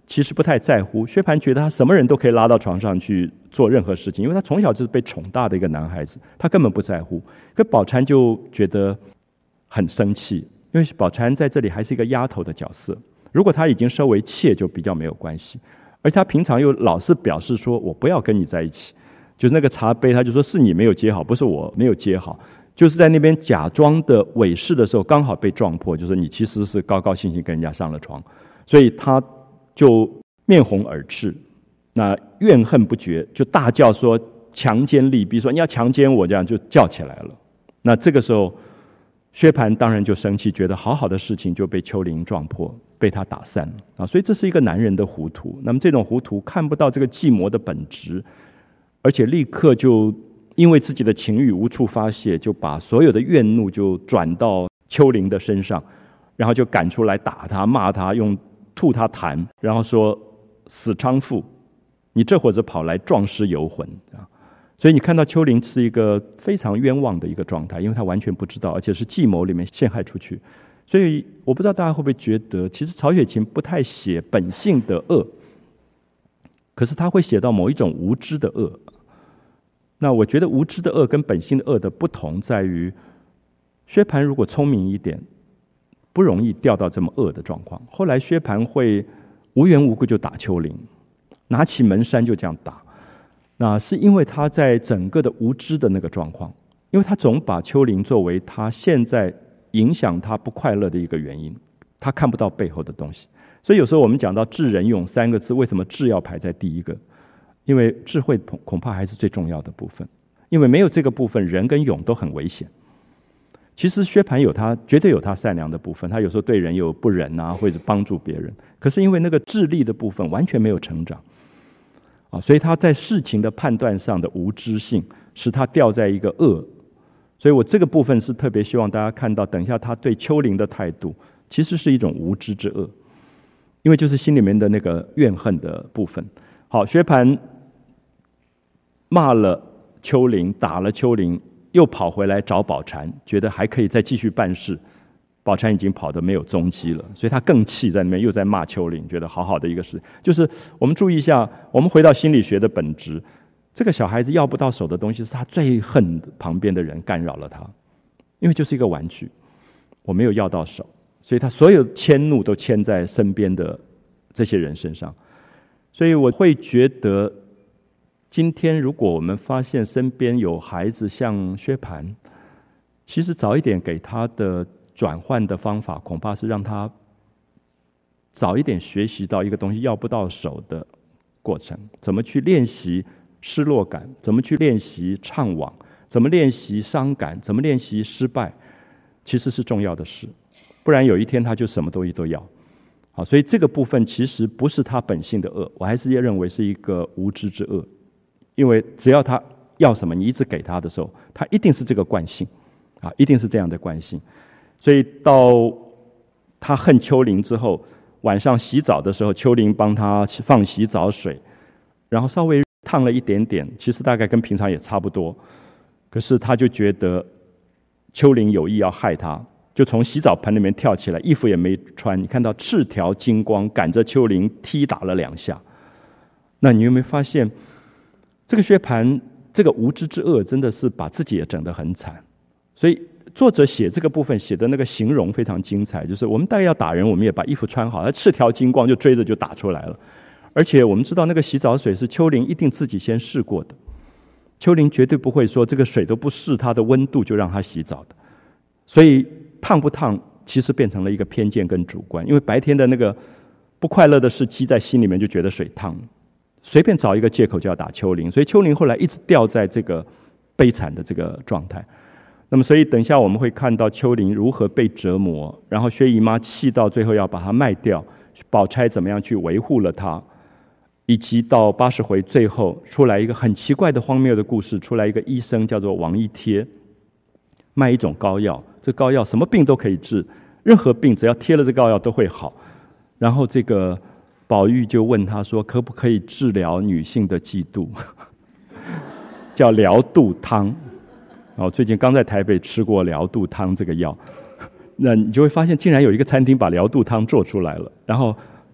[SPEAKER 1] 其实不太在乎。薛蟠觉得他什么人都可以拉到床上去做任何事情，因为他从小就是被宠大的一个男孩子，他根本不在乎。可宝钗就觉得很生气，因为宝钗在这里还是一个丫头的角色，如果她已经收为妾就比较没有关系，而且她平常又老是表示说我不要跟你在一起，就是那个茶杯他就说是你没有接好，不是我没有接好，就是在那边假装的伪饰的时候刚好被撞破，就是你其实是高高兴兴跟人家上了床，所以他就面红耳赤，那怨恨不绝，就大叫说强奸利弊，说你要强奸我，这样就叫起来了。那这个时候薛蟠当然就生气，觉得好好的事情就被丘陵撞破，被他打散了啊！所以这是一个男人的糊涂。那么这种糊涂看不到这个计谋的本质，而且立刻就因为自己的情欲无处发泄，就把所有的怨怒就转到丘陵的身上，然后就赶出来打他、骂他，用吐他痰，然后说死娼妇，你这会子跑来撞尸游魂啊！所以你看到丘陵是一个非常冤枉的一个状态，因为他完全不知道，而且是计谋里面陷害出去。所以我不知道大家会不会觉得，其实曹雪芹不太写本性的恶，可是他会写到某一种无知的恶。那我觉得无知的恶跟本性的恶的不同在于，薛蟠如果聪明一点，不容易掉到这么恶的状况。后来薛蟠会无缘无故就打丘陵，拿起门扇就这样打，那是因为他在整个的无知的那个状况，因为他总把丘陵作为他现在影响他不快乐的一个原因，他看不到背后的东西。所以有时候我们讲到智仁勇三个字，为什么智要排在第一个？因为智慧恐怕还是最重要的部分，因为没有这个部分，仁跟勇都很危险。其实薛蟠绝对有他善良的部分，他有时候对人有不仁啊，或者帮助别人，可是因为那个智力的部分完全没有成长啊，所以他在事情的判断上的无知性，使他掉在一个恶。所以我这个部分是特别希望大家看到，等一下他对丘陵的态度，其实是一种无知之恶，因为就是心里面的那个怨恨的部分。好，薛蟠骂了丘陵，打了丘陵，又跑回来找宝钗，觉得还可以再继续办事。宝钗已经跑得没有踪迹了，所以他更气，在那边又在骂丘陵，觉得好好的一个事。就是我们注意一下，我们回到心理学的本质，这个小孩子要不到手的东西，是他最恨旁边的人干扰了他，因为就是一个玩具，我没有要到手，所以他所有迁怒都迁在身边的这些人身上。所以我会觉得，今天如果我们发现身边有孩子像薛蟠，其实早一点给他的转换的方法，恐怕是让他早一点学习到一个东西要不到手的过程，怎么去练习失落感，怎么去练习怅惘，怎么练习伤感，怎么练习失败，其实是重要的事，不然有一天他就什么东西都要。好，所以这个部分其实不是他本性的恶，我还是认为是一个无知之恶，因为只要他要什么，你一直给他的时候，他一定是这个惯性啊，一定是这样的惯性。所以到他恨丘陵之后，晚上洗澡的时候，丘陵帮他放洗澡水，然后稍微烫了一点点，其实大概跟平常也差不多，可是他就觉得丘陵有意要害他，就从洗澡盆里面跳起来，衣服也没穿，你看到赤条金光，赶着丘陵踢打了2下。那你有没有发现，这个薛蟠这个无知之恶真的是把自己也整得很惨。所以作者写这个部分写的那个形容非常精彩，就是我们大概要打人，我们也把衣服穿好，他赤条金光就追着就打出来了。而且我们知道那个洗澡水是丘陵一定自己先试过的，丘陵绝对不会说这个水都不试它的温度就让他洗澡的。所以烫不烫其实变成了一个偏见跟主观，因为白天的那个不快乐的事积在心里面，就觉得水烫，随便找一个借口就要打丘陵，所以丘陵后来一直掉在这个悲惨的这个状态。那么所以等一下我们会看到丘陵如何被折磨，然后薛姨妈气到最后要把它卖掉，宝钗怎么样去维护了她，以及到80回最后出来一个很奇怪的荒谬的故事，出来一个医生叫做王一贴，卖一种膏药，这膏药什么病都可以治，任何病只要贴了这膏药都会好。然后这个宝玉就问他说，可不可以治疗女性的嫉妒叫疗肚汤。最近刚在台北吃过疗肚汤这个药，那你就会发现竟然有一个餐厅把疗肚汤做出来了，然后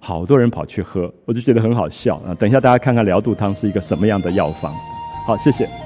[SPEAKER 1] 好多人跑去喝，我就觉得很好笑啊。等一下大家看看疗肚汤是一个什么样的药方。好，谢谢。